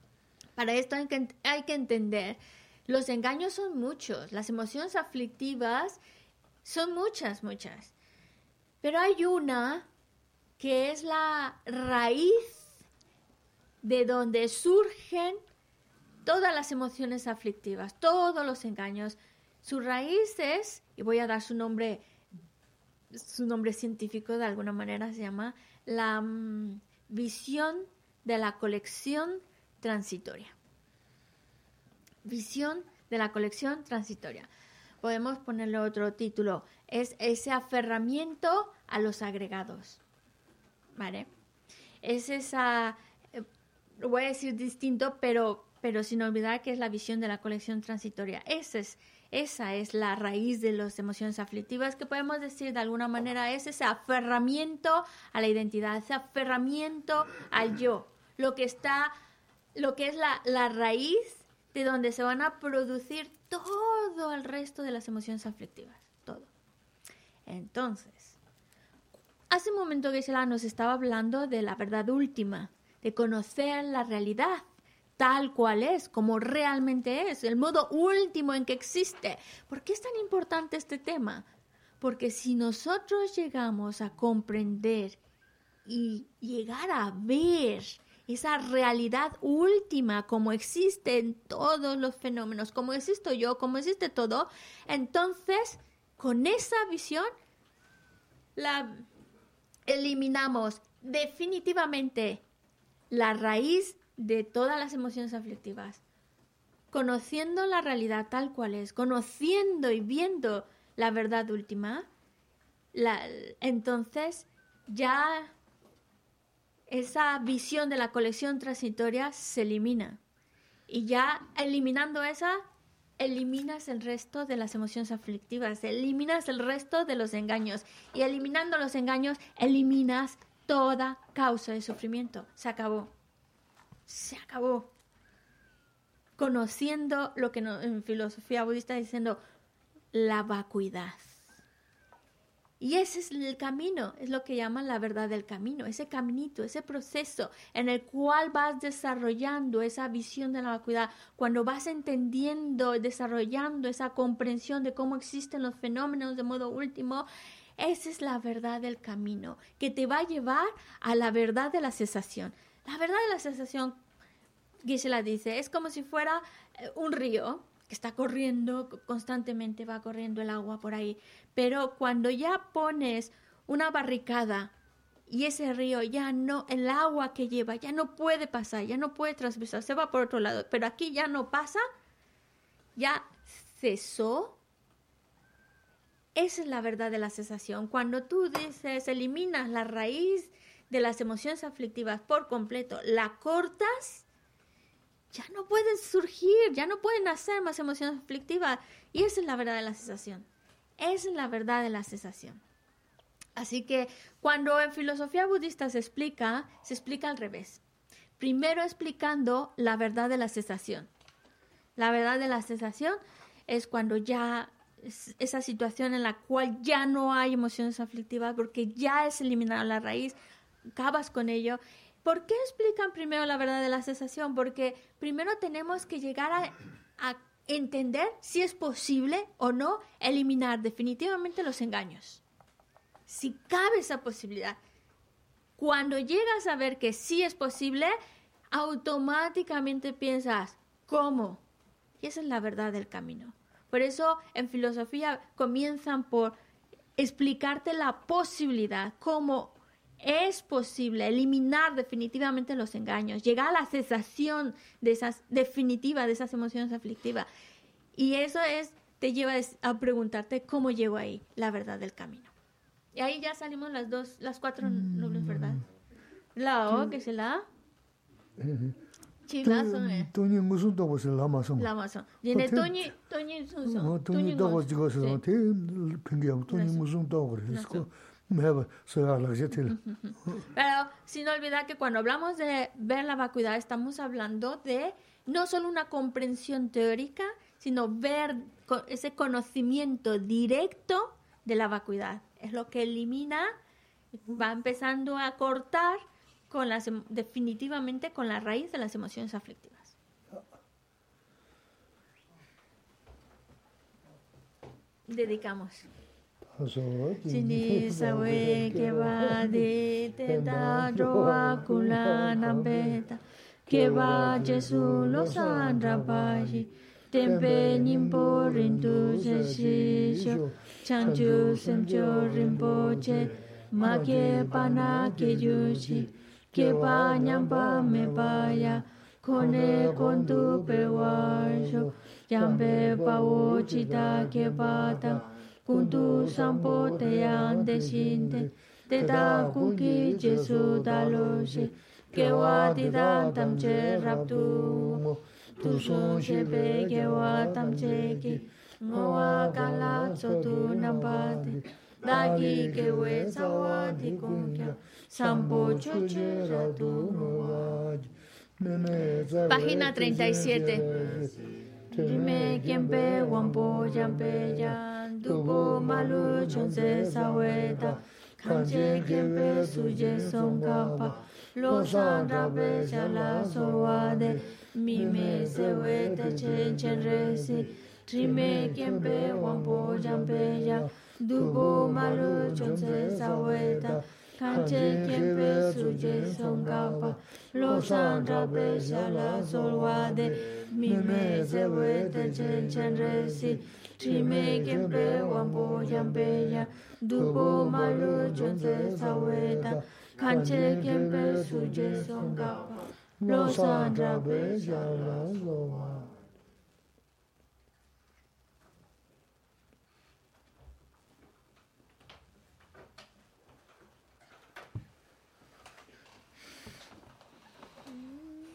Para esto hay que entender, los engaños son muchos, las emociones aflictivas son muchas. Pero hay una que es la raíz de donde surgen todas las emociones aflictivas, todos los engaños. Su raíz es, y voy a dar su nombre científico de alguna manera, se llama la visión de la colección transitoria. Visión de la colección transitoria. Podemos ponerle otro título. Es ese aferramiento a los agregados. ¿Vale? Es esa, lo voy a decir distinto, pero sin olvidar que es la visión de la colección transitoria. Esa es la raíz de las emociones aflictivas, que podemos decir de alguna manera es ese aferramiento a la identidad, ese aferramiento al yo, lo que es la raíz de donde se van a producir todo el resto de las emociones aflictivas, todo. Entonces, hace un momento Geshe-la nos estaba hablando de la verdad última, de conocer la realidad tal cual es, como realmente es, el modo último en que existe. ¿Por qué es tan importante este tema? Porque si nosotros llegamos a comprender y llegar a ver esa realidad última como existe en todos los fenómenos, como existo yo, como existe todo, entonces con esa visión eliminamos definitivamente la raíz de todas las emociones aflictivas. Conociendo la realidad tal cual es, conociendo y viendo la verdad última, entonces ya esa visión de la colección transitoria se elimina. Y ya eliminando esa, eliminas el resto de las emociones aflictivas, eliminas el resto de los engaños. Y eliminando los engaños, eliminas toda causa de sufrimiento. Se acabó. Se acabó. Conociendo lo que en filosofía budista diciendo la vacuidad. Y ese es el camino, es lo que llaman la verdad del camino, ese caminito, ese proceso en el cual vas desarrollando esa visión de la vacuidad, cuando vas entendiendo, desarrollando esa comprensión de cómo existen los fenómenos de modo último, esa es la verdad del camino, que te va a llevar a la verdad de la cesación. La verdad de la cesación, Geshe-la dice, es como si fuera un río que está corriendo constantemente, va corriendo el agua por ahí. Pero cuando ya pones una barricada y ese río ya no, el agua que lleva ya no puede pasar, ya no puede traspasar, se va por otro lado, pero aquí ya no pasa, ya cesó. Esa es la verdad de la cesación. Cuando tú dices, eliminas la raíz de las emociones aflictivas por completo, la cortas, ya no pueden surgir, ya no pueden nacer más emociones aflictivas. Y esa es la verdad de la cesación. Esa es la verdad de la cesación. Así que cuando en filosofía budista se explica al revés. Primero explicando la verdad de la cesación. La verdad de la cesación es cuando ya esa situación en la cual ya no hay emociones aflictivas porque ya es eliminada la raíz, acabas con ello. ¿Por qué explican primero la verdad de la cesación? Porque primero tenemos que llegar a entender si es posible o no eliminar definitivamente los engaños. Si cabe esa posibilidad. Cuando llegas a ver que sí es posible, automáticamente piensas, ¿cómo? Y esa es la verdad del camino. Por eso en filosofía comienzan por explicarte la posibilidad, cómo es posible eliminar definitivamente los engaños, llegar a la cesación definitiva de esas emociones aflictivas. Y eso te lleva a preguntarte cómo llego ahí, la verdad del camino. Y ahí ya salimos las cuatro nobles verdades. La O, que es la A. Sí, la son. Toñi musun dogo se lama son. Lama son. Yene Toñi son. Toñi dogo digo se son. Te pingiam Toñi musun dogo es. Pero sin olvidar que cuando hablamos de ver la vacuidad estamos hablando de no solo una comprensión teórica, sino ver ese conocimiento directo de la vacuidad. Es lo que elimina, va empezando a cortar definitivamente con la raíz de las emociones aflictivas. Dedicamos. Chini sawe que va de teta droa kulana beta que va Jesús los andrapaji tempe nimpo rindu sesisho chanchu semcho rimpoche ma que pana que yushi que pa nyampa me vaya kone con tu pewajo yambe pawo chita que pata kuntu sampo te ande shinte te da kuki Jesu daloshe que wa ti dan tam che raptu tu son che be que wa tam che ki ngoa kala so tu nambate dagi que we sawa ti kunkya sampo choche ratu. Página 37. Dime quien pe wampo yampe yan dupo malu chonse saweta kanche quien pe suje son kapa lo sandra be shala soade mi me se we te chen chen resi trime kempe wampo jampe ya dubo malu chonse saweta kanche kempe suje songapa lo sandra be shala soade mi me se we te chen chen resi trime kempe wampo jampe ya dubo malu chonse saweta kanche kempe suje songapa lo sandra be shala soade